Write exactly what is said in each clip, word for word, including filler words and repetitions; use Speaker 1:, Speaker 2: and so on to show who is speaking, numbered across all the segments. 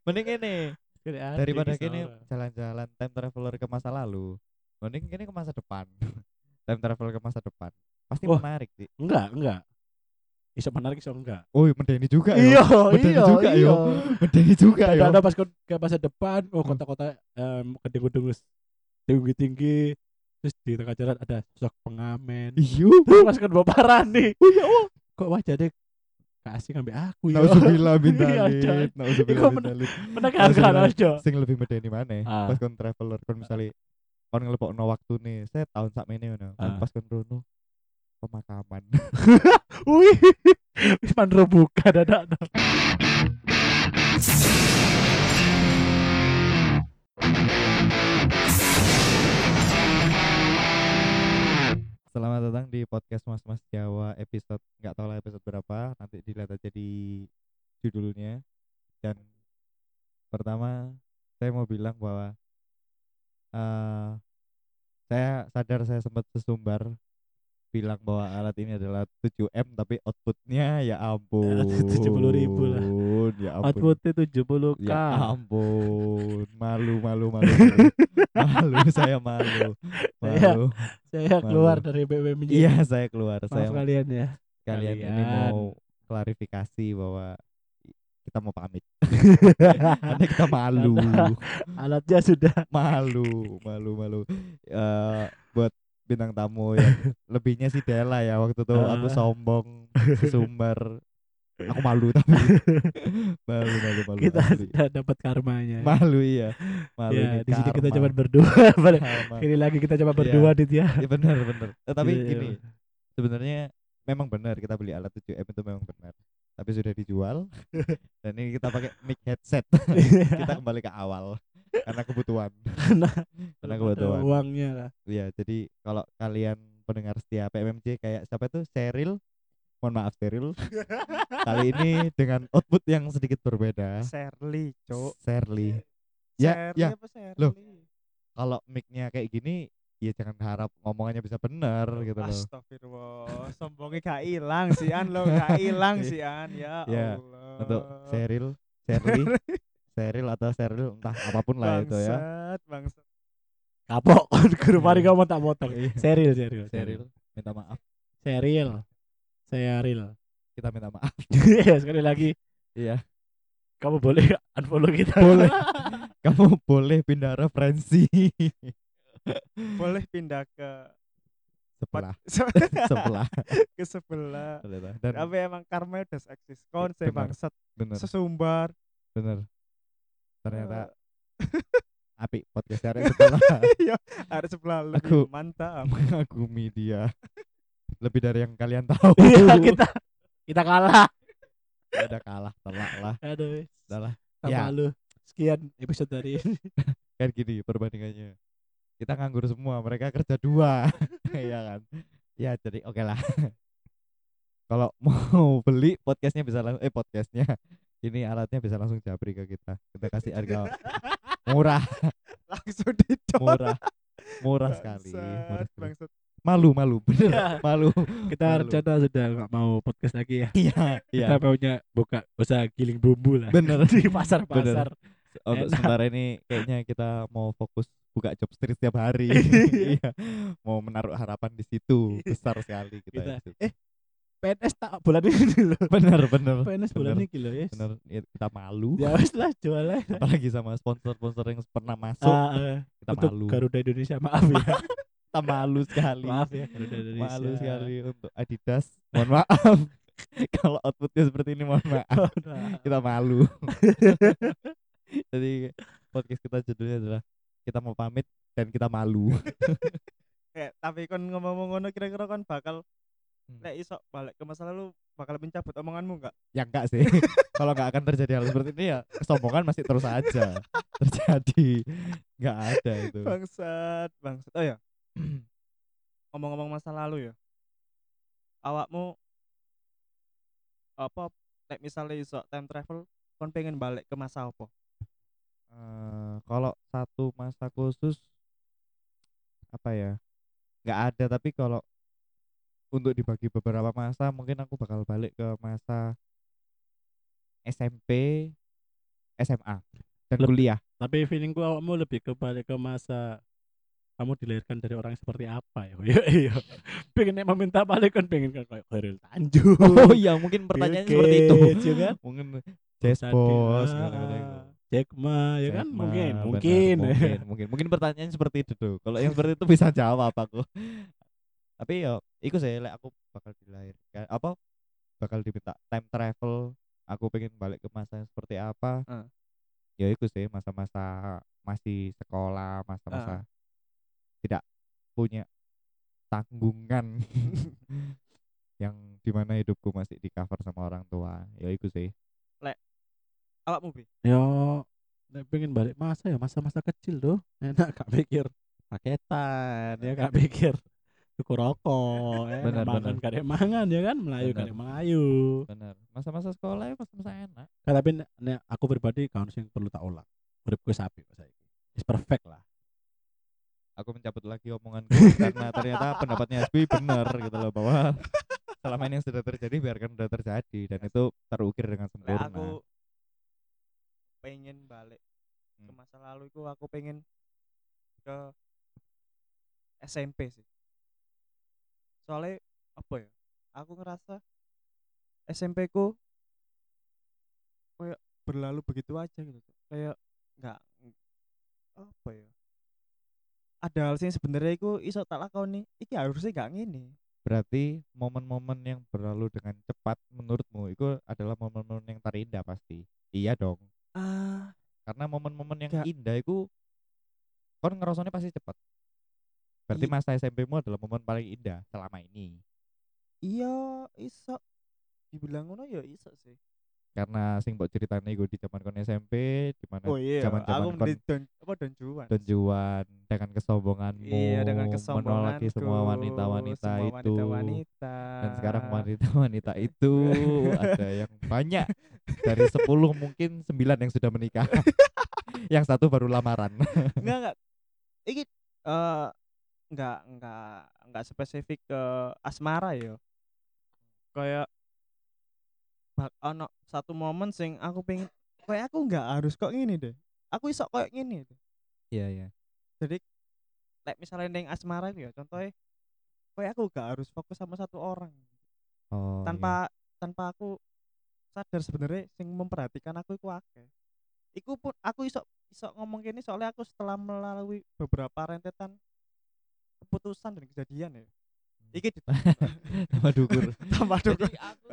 Speaker 1: Mending ini
Speaker 2: Kene ade iki
Speaker 1: daripada kini
Speaker 2: sora.
Speaker 1: jalan-jalan time traveler ke masa lalu. Mending kini ke masa depan. Time traveler ke masa depan. Pasti
Speaker 2: Wah,
Speaker 1: menarik sih.
Speaker 2: enggak, enggak. Iso menarik iso enggak.
Speaker 1: Oh, medeni juga yo.
Speaker 2: Iya,
Speaker 1: Medeni
Speaker 2: iya,
Speaker 1: juga
Speaker 2: iya.
Speaker 1: yo. Medeni juga
Speaker 2: Dadak
Speaker 1: yo.
Speaker 2: ada pas kon- ke masa depan, oh
Speaker 1: Hmm.
Speaker 2: kota-kota em gedung-gedung wis tinggi-tinggi. Terus di tengah jalan ada sosok pengamen.
Speaker 1: Iyo.
Speaker 2: Terus pas kon bawa parani.
Speaker 1: Oh ya Allah.
Speaker 2: Kok wajahnya kasih ngambil aku yo.
Speaker 1: Nauzubillah bin
Speaker 2: Iya, coy.
Speaker 1: Dalid. Nauzubillah
Speaker 2: Iku
Speaker 1: bin
Speaker 2: men-
Speaker 1: Dalid.
Speaker 2: menegangkan
Speaker 1: Nauzubillah.
Speaker 2: aja.
Speaker 1: Sing lebih medeni maneh. Pas
Speaker 2: Ah,
Speaker 1: kon traveler kon misalnya kon ngelepokno waktu nih. Saya tahun sakmene ngono. Kon
Speaker 2: ah.
Speaker 1: pas kon rono pemakaman.
Speaker 2: Wih, wis mandro buka dadak.
Speaker 1: Selamat datang di podcast Mas Mas Jawa episode nggak tahu lah episode berapa, nanti dilihat aja di judulnya. Dan pertama saya mau bilang bahwa eh saya sadar saya sempat sesumbar bilang bahwa alat ini adalah tujuh M tapi outputnya ya
Speaker 2: tujuh puluh ribu lah.
Speaker 1: ampun, ya ampun,
Speaker 2: Outputnya tujuh puluh k.
Speaker 1: ya ampun, malu malu malu malu malu saya malu
Speaker 2: Saya
Speaker 1: malu
Speaker 2: saya keluar
Speaker 1: malu.
Speaker 2: dari B B M
Speaker 1: Iya,
Speaker 2: J.
Speaker 1: saya keluar,
Speaker 2: Maaf
Speaker 1: saya
Speaker 2: kalian ya.
Speaker 1: kalian ini
Speaker 2: Kalian.
Speaker 1: mau klarifikasi bahwa kita mau pamit karena kita malu.
Speaker 2: Karena alatnya sudah
Speaker 1: Malu malu malu Eh buat bintang tamu yang lebihnya sih Dela ya, waktu itu aku
Speaker 2: eh,
Speaker 1: sombong sesumbar, aku malu tapi malu malu malu
Speaker 2: kita
Speaker 1: asli,
Speaker 2: sudah dapat karmanya.
Speaker 1: malu iya, malu ini
Speaker 2: Ya, di sini kita
Speaker 1: karma,
Speaker 2: cuma berdua.
Speaker 1: karma.
Speaker 2: Ini lagi kita cuma
Speaker 1: Iya,
Speaker 2: berdua dit ya.
Speaker 1: iya benar benar. Eh, tapi
Speaker 2: Gitu.
Speaker 1: gini, sebenarnya memang benar kita beli alat tujuh M itu memang benar, tapi sudah dijual dan ini kita pakai mic headset. Kita kembali ke awal karena kebutuhan.
Speaker 2: Karena
Speaker 1: Karena
Speaker 2: belum ada
Speaker 1: kebutuhan.
Speaker 2: uangnya lah.
Speaker 1: Iya, jadi kalau kalian pendengar setia P M M J kayak siapa tuh Cheryl, mohon maaf Cheryl, kali ini dengan output yang sedikit berbeda.
Speaker 3: Shirley, cuk.
Speaker 1: Shirley. Ya,
Speaker 3: Shirley
Speaker 1: ya.
Speaker 3: apa
Speaker 1: Loh,
Speaker 3: Shirley?
Speaker 1: kalau mic-nya kayak gini, ya jangan harap ngomongannya bisa benar gitu loh.
Speaker 3: Astagfirullah, sombongnya gak hilang sih an lo, gak hilang
Speaker 1: Iya.
Speaker 3: sih an, ya
Speaker 1: Ya,
Speaker 3: Allah.
Speaker 1: untuk Cheryl, Shirley, Cheryl atau Cheryl entah apapun lah itu ya.
Speaker 3: Bangsat, bangsat.
Speaker 2: Kapok guru
Speaker 1: Iya.
Speaker 2: mari kamu tak potong.
Speaker 1: Iya.
Speaker 2: Seril, seril,
Speaker 1: Cheryl, minta maaf.
Speaker 2: Seril. Seril.
Speaker 1: Kita minta maaf.
Speaker 2: Iya, sekali lagi
Speaker 1: Iya.
Speaker 2: kamu boleh unfollow kita.
Speaker 1: Boleh. Kamu boleh pindah referensi.
Speaker 3: Boleh pindah ke
Speaker 1: Sebelah,
Speaker 3: se-
Speaker 1: sebelah.
Speaker 3: ke sebelah.
Speaker 1: Dan
Speaker 3: Tapi emang karma udah eksis. Kon saya
Speaker 1: benar,
Speaker 3: bangsat,
Speaker 1: bener,
Speaker 3: sesumbar.
Speaker 1: bener. Ternyata
Speaker 3: Eh,
Speaker 1: api podcast hari sebelah
Speaker 3: Iya, ada sebelah lebih
Speaker 1: Aku-
Speaker 3: mantap.
Speaker 1: mengagumi dia lebih dari yang kalian tahu.
Speaker 2: Iya, kita kita kalah.
Speaker 1: Ya udah kalah, telak lah,
Speaker 2: Aduh,
Speaker 1: udah lah.
Speaker 2: sama
Speaker 1: Ya.
Speaker 2: lu. Sekian episode hari ini.
Speaker 1: Kan gini perbandingannya. Kita nganggur semua, mereka kerja dua. Iya kan. Ya jadi oke lah. Kalau mau beli podcastnya bisa langsung eh podcastnya ini alatnya bisa langsung japri ke kita. Kita kasih harga murah,
Speaker 3: Langsung didot.
Speaker 1: murah, murah sekali.
Speaker 3: Bangsat,
Speaker 1: Murah sekali.
Speaker 3: bangsat.
Speaker 1: Malu, malu, bener,
Speaker 2: Iya.
Speaker 1: malu.
Speaker 2: Kita
Speaker 1: Malu.
Speaker 2: rencana sudah nggak mau podcast lagi ya.
Speaker 1: Iya, iya.
Speaker 2: Kita maunya buka usaha giling bumbu lah.
Speaker 1: Bener.
Speaker 2: Di pasar-pasar.
Speaker 1: Untuk
Speaker 2: Enak.
Speaker 1: sementara ini kayaknya kita mau fokus buka job street setiap hari. Iya. Mau menaruh harapan di situ besar sekali kita.
Speaker 2: Kita
Speaker 1: di situ.
Speaker 2: eh P N S tak bulan ini loh.
Speaker 1: Bener, bener.
Speaker 2: P N S bulan
Speaker 1: bener,
Speaker 2: ini loh ya.
Speaker 1: bener. Ya, kita malu.
Speaker 2: Ya wes lah jualan.
Speaker 1: Apalagi sama sponsor-sponsor yang pernah masuk,
Speaker 2: Ah, eh,
Speaker 1: kita
Speaker 2: untuk
Speaker 1: malu.
Speaker 2: Garuda Indonesia maaf ya.
Speaker 1: Kita malu sekali.
Speaker 2: Maaf ya Garuda Indonesia.
Speaker 1: Malu sekali untuk Adidas. Mohon maaf. Kalau outputnya seperti ini mohon maaf. Kita malu. Jadi podcast kita judulnya adalah kita mau pamit dan kita malu.
Speaker 3: Eh, tapi kon ngomong ngono kira-kira kon bakal
Speaker 1: Hmm.
Speaker 3: nek iso balik ke masa lalu bakal mencabut omonganmu enggak?
Speaker 1: Ya enggak sih. Kalau enggak akan terjadi hal seperti ini ya kesombongan masih terus aja terjadi. Enggak ada itu.
Speaker 3: Bangsat, bangsat. Oh ya. Ngomong-ngomong masa lalu ya. Awakmu apa nek misalnya iso time travel kon pengen balik ke masa apa?
Speaker 1: Eh, kalau satu masa khusus apa ya? Enggak ada, tapi kalau untuk dibagi beberapa masa mungkin aku bakal balik ke masa S M P, S M A dan
Speaker 2: Leb-
Speaker 1: kuliah.
Speaker 2: Tapi feelingku awakmu lebih ke balik ke masa kamu dilahirkan dari orang yang seperti apa ya? Iya iya. Pengen emang minta balik kan pengen kan kayak Khairil Tanjung.
Speaker 1: Oh iya, mungkin
Speaker 2: Bill
Speaker 1: pertanyaannya seperti itu.
Speaker 2: Gates, ya kan?
Speaker 1: Mungkin
Speaker 2: Bos
Speaker 1: Jazz Boss
Speaker 2: Adi,
Speaker 1: ngono-ngono
Speaker 2: ah,
Speaker 1: iku.
Speaker 2: Jack Ma ya kan
Speaker 1: Jack Ma,
Speaker 2: mungkin
Speaker 1: benar,
Speaker 2: mungkin
Speaker 1: mungkin mungkin mungkin pertanyaannya seperti itu tuh. Kalau yang seperti itu bisa jawab aku. Tapi yo iku sih lek aku bakal dilahirkan apa bakal diminta time travel, aku pengen balik ke masa yang seperti apa.
Speaker 3: Heeh.
Speaker 1: Ya iku sih masa-masa masih sekolah, masa-masa tidak punya tanggungan yang dimana hidupku masih di cover sama orang tua. Ya iku sih.
Speaker 3: Awakmu Bi?
Speaker 2: yo nek pengen balik masa ya masa-masa kecil tuh enak gak pikir paketan ya gak pikir tuku rokok ya
Speaker 1: Bener,
Speaker 2: makan
Speaker 1: bener.
Speaker 2: gak ada mangan ya kan melayu gak ada
Speaker 1: Bener.
Speaker 2: melayu.
Speaker 1: Bener. Masa-masa sekolah ya masa-masa enak.
Speaker 2: Nah, tapi nek, nek aku pribadi kan sing perlu tak ulang uripku sapi kok saiki is perfect lah.
Speaker 1: Aku mencabut lagi omonganku karena ternyata pendapatnya Hasbi benar gitu loh, bahwa selama ini yang sudah terjadi biarkan sudah terjadi dan itu terukir dengan
Speaker 3: Lek
Speaker 1: sempurna.
Speaker 3: aku pengen balik ke
Speaker 1: Hmm.
Speaker 3: masa lalu itu aku pengen ke S M P sih. Soalnya apa ya? Aku ngerasa S M P ku kayak berlalu begitu aja gitu. Kayak nggak apa ya? Ada hal sing sebenarnya iku iso tak lakoni. Iki harusnya gak ngene.
Speaker 1: Berarti momen-momen yang berlalu dengan cepat menurutmu itu adalah momen-momen yang terindah pasti. Iya dong.
Speaker 3: Ah,
Speaker 1: Karena momen-momen yang
Speaker 3: gak
Speaker 1: indah itu kon ngerasanya pasti cepat. Berarti
Speaker 3: i-
Speaker 1: masa S M P-mu adalah momen paling indah selama ini.
Speaker 3: iya iso dibilang ngono ya iso sih.
Speaker 1: Karena sing mbok ceritane iku di zaman kon S M P, di mana
Speaker 3: Oh iya,
Speaker 1: zaman-zaman
Speaker 3: aku
Speaker 1: kon
Speaker 3: mending don apa don juan.
Speaker 1: donjuan dengan kesombonganmu
Speaker 3: Iya, dengan
Speaker 1: menolaki
Speaker 3: kesombonganku,
Speaker 1: semua wanita-wanita
Speaker 3: semua
Speaker 1: itu,
Speaker 3: wanita-wanita.
Speaker 1: dan sekarang wanita-wanita itu ada yang banyak, dari sepuluh mungkin sembilan yang sudah menikah. Yang satu baru lamaran.
Speaker 3: Enggak enggak. Iki eh enggak enggak enggak spesifik ke asmara ya. Kayak bak ono satu momen sing aku pengen kayak aku enggak harus kok gini deh. Aku iso kayak gini deh.
Speaker 1: Iya, iya.
Speaker 3: Jadi like misalnya neng asmara itu ya contohnya kayak aku gak harus fokus sama satu orang
Speaker 1: Oh, iya.
Speaker 3: tanpa tanpa aku sadar sebenarnya sing memperhatikan aku iku akeh. Iku pun aku iso iso ngomong gini soalnya aku setelah melalui beberapa rentetan keputusan dan kejadian ya. Iki di-
Speaker 1: Tambah dukur.
Speaker 3: tambah dukur.
Speaker 1: Jadi aku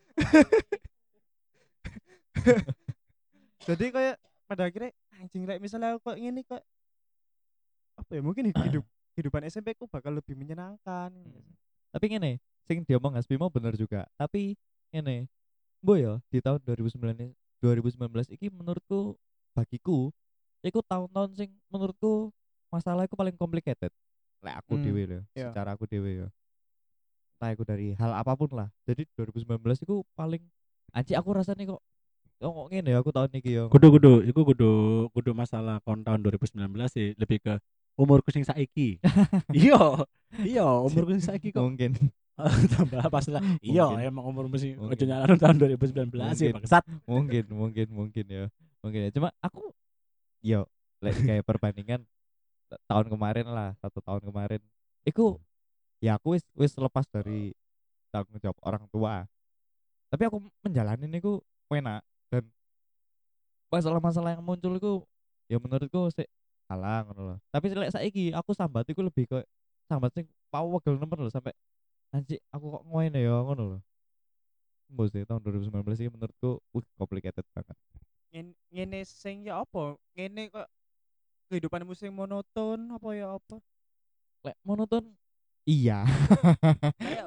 Speaker 3: Jadi kayak pada akhirnya anjing rek misalnya aku kok ngene kok apa ya mungkin hidup kehidupan S M P ku bakal lebih menyenangkan.
Speaker 1: tapi ngene, sing diomong Hasbi mau bener juga. Tapi ngene, mbok ya di tahun dua ribu sembilan ini- dua ribu sembilan belas iki menurutku bagiku iku tahun-tahun sing menurutku masalah iku paling complicated. Lek aku
Speaker 3: Hmm,
Speaker 1: dhewe lho,
Speaker 3: iya.
Speaker 1: secara aku dhewe ya. Entah iku dari hal apapun lah. Jadi dua ribu sembilan belas iku paling anjir aku rasanya kok kok kok ngene ya aku tahun iki ya.
Speaker 2: Kudu kudu iku kudu kudu masalah kon tahun dua ribu sembilan belas sih lebih ke umurku sing saiki. Iya, iya umurku sing saiki kok
Speaker 1: Mungkin
Speaker 2: tambah pas lah. Iya,
Speaker 1: Mungkin.
Speaker 2: emang umurmu sih
Speaker 1: Mungkin.
Speaker 2: ojo nyalahin tahun dua ribu sembilan belas sih
Speaker 1: Mungkin.
Speaker 2: bangsat.
Speaker 1: mungkin mungkin mungkin ya. Mungkin ya. Cuma aku yo lek kayak perbandingan t- tahun kemarin lah, satu tahun kemarin. Iku ya aku wis wis lepas dari tanggung jawab orang tua. Tapi aku menjalani niku enak dan masalah-masalah yang muncul iku ya menurutku sik alah ngono loh. Tapi lek saiki aku sambat iku lebih ke sambat sing pawegel nemen loh sampai anjir aku kok ngene ya ngono loh. Mbok sih tahun dua ribu sembilan belas ini menurutku uh complicated banget.
Speaker 3: Ngen- ngene sing ya apa? Ngene kok kehidupanmu sing monoton apa ya apa?
Speaker 1: Lek monoton iya.
Speaker 3: Kayak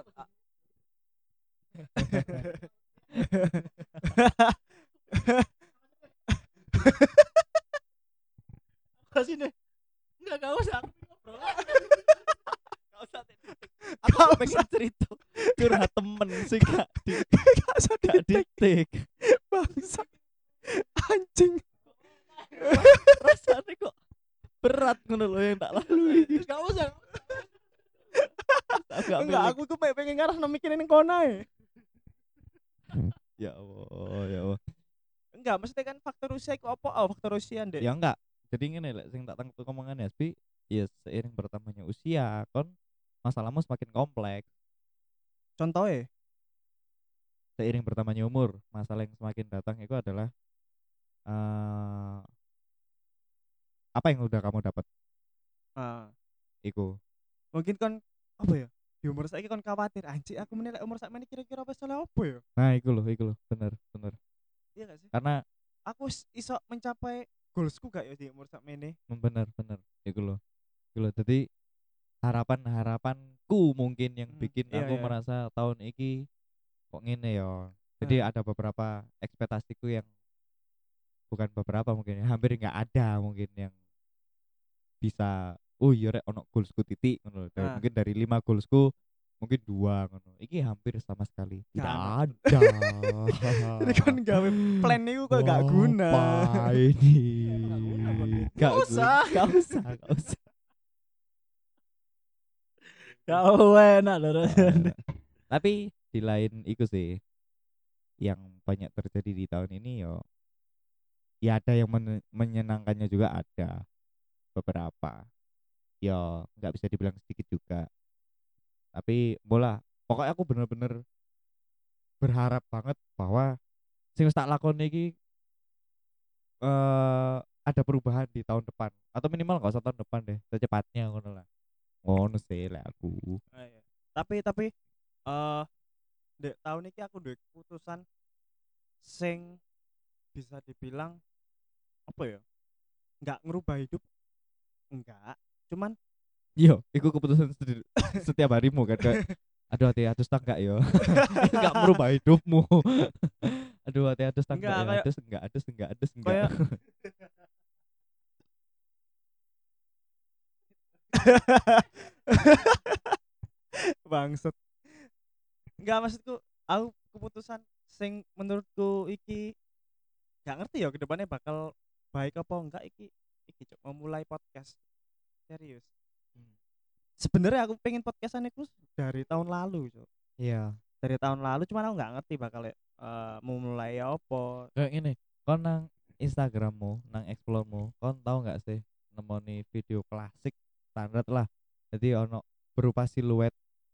Speaker 2: Kasih deh. Enggak enggak usah.
Speaker 1: Gak usah aku pengen cerita curhat temen sih gak di
Speaker 3: gak usah
Speaker 1: gak ditik
Speaker 3: bangsa anjing.
Speaker 1: rasanya kok berat ngono loh yang tak lalui.
Speaker 2: Enggak usah.
Speaker 1: Aku gak
Speaker 3: Enggak,
Speaker 1: milik.
Speaker 3: aku tuh pengen ngarah mikirin kono ae.
Speaker 1: Ya Allah ya Allah.
Speaker 3: enggak, maksudnya kan faktor usia iku apa? Oh, faktor usia ndek.
Speaker 1: Ya enggak. Jadi ngene lek sing tak tangkep omongan Hasbi, ya seiring bertambahnya usia kon masalahmu semakin kompleks.
Speaker 3: Contohnya,
Speaker 1: Seiring bertambahnya umur, masalah yang semakin datang itu adalah eh apa yang udah kamu dapat
Speaker 3: ah,
Speaker 1: iku.
Speaker 3: mungkin kon apa ya? Di umur saiki kon khawatir, anjir aku menilai umur sakmene kira-kira wis oleh apa ya?
Speaker 1: Nah, iku loh, iku loh, bener, bener.
Speaker 3: Iya gak sih?
Speaker 1: Karena
Speaker 3: Aku wis iso mencapai goalsku gak ya di umur sakmene?
Speaker 1: bener, bener, iku loh. Iku loh. Jadi harapan-harapanku mungkin yang
Speaker 3: Hmm,
Speaker 1: bikin
Speaker 3: iya
Speaker 1: aku
Speaker 3: iya.
Speaker 1: merasa tahun iki kok ngene ya. Jadi
Speaker 3: Hmm.
Speaker 1: ada beberapa ekspektasiku yang bukan beberapa mungkin ya, hampir nggak ada mungkin yang bisa oh iya rek ono goalsku titik ngono lho. Dan
Speaker 3: Ah.
Speaker 1: mungkin dari lima goalsku mungkin dua ngono. Iki hampir sama sekali
Speaker 3: Gak
Speaker 1: tidak
Speaker 3: ono.
Speaker 1: ada.
Speaker 3: Jadi kan gawe plan niku kok gak guna.
Speaker 1: Apa ini?
Speaker 3: Emang gak guna, Bang.
Speaker 1: Gak
Speaker 3: Gak usah.
Speaker 1: guna. Gak usah, gak usah.
Speaker 2: Kau enak lho.
Speaker 1: Eh, Tapi di lain itu sih yang banyak terjadi di tahun ini yo ya ada yang men- menyenangkannya juga ada beberapa ya nggak bisa dibilang sedikit juga tapi bola pokoknya aku bener-bener berharap banget bahwa sing wis tak lakoni iki eh ada perubahan di tahun depan atau minimal nggak usah tahun depan deh secepatnya ngono lah ngono sih lah aku.
Speaker 3: Ah, iya. Tapi tapi eh dek tahun ini aku duwe keputusan sing bisa dibilang apa ya? Enggak ngerubah hidup. Enggak. Cuman
Speaker 1: Iya, itu keputusan sedi- setiap harimu kan kayak aduh hati atus tak enggak yo. Enggak merubah hidupmu. Aduh hati atus tak enggak
Speaker 3: enggak
Speaker 1: ya.
Speaker 3: kayak
Speaker 1: Atus enggak, atus enggak, atus enggak.
Speaker 3: kayak bangsat. Enggak maksudku aku keputusan sing menurutku iki gak ngerti ya kedepannya bakal baik apa enggak iki iki Cuk, memulai podcast serius. Sebenarnya aku pengen podcastan itu dari tahun lalu Cuk.
Speaker 1: Iya.
Speaker 3: Dari tahun lalu cuman aku nggak ngerti bakal eh mau mulai apa.
Speaker 1: Kayak gini, kau nang Instagrammu, nang exploremu, kau tahu nggak sih nemoni video klasik standar lah. Jadi ono berupa siluet,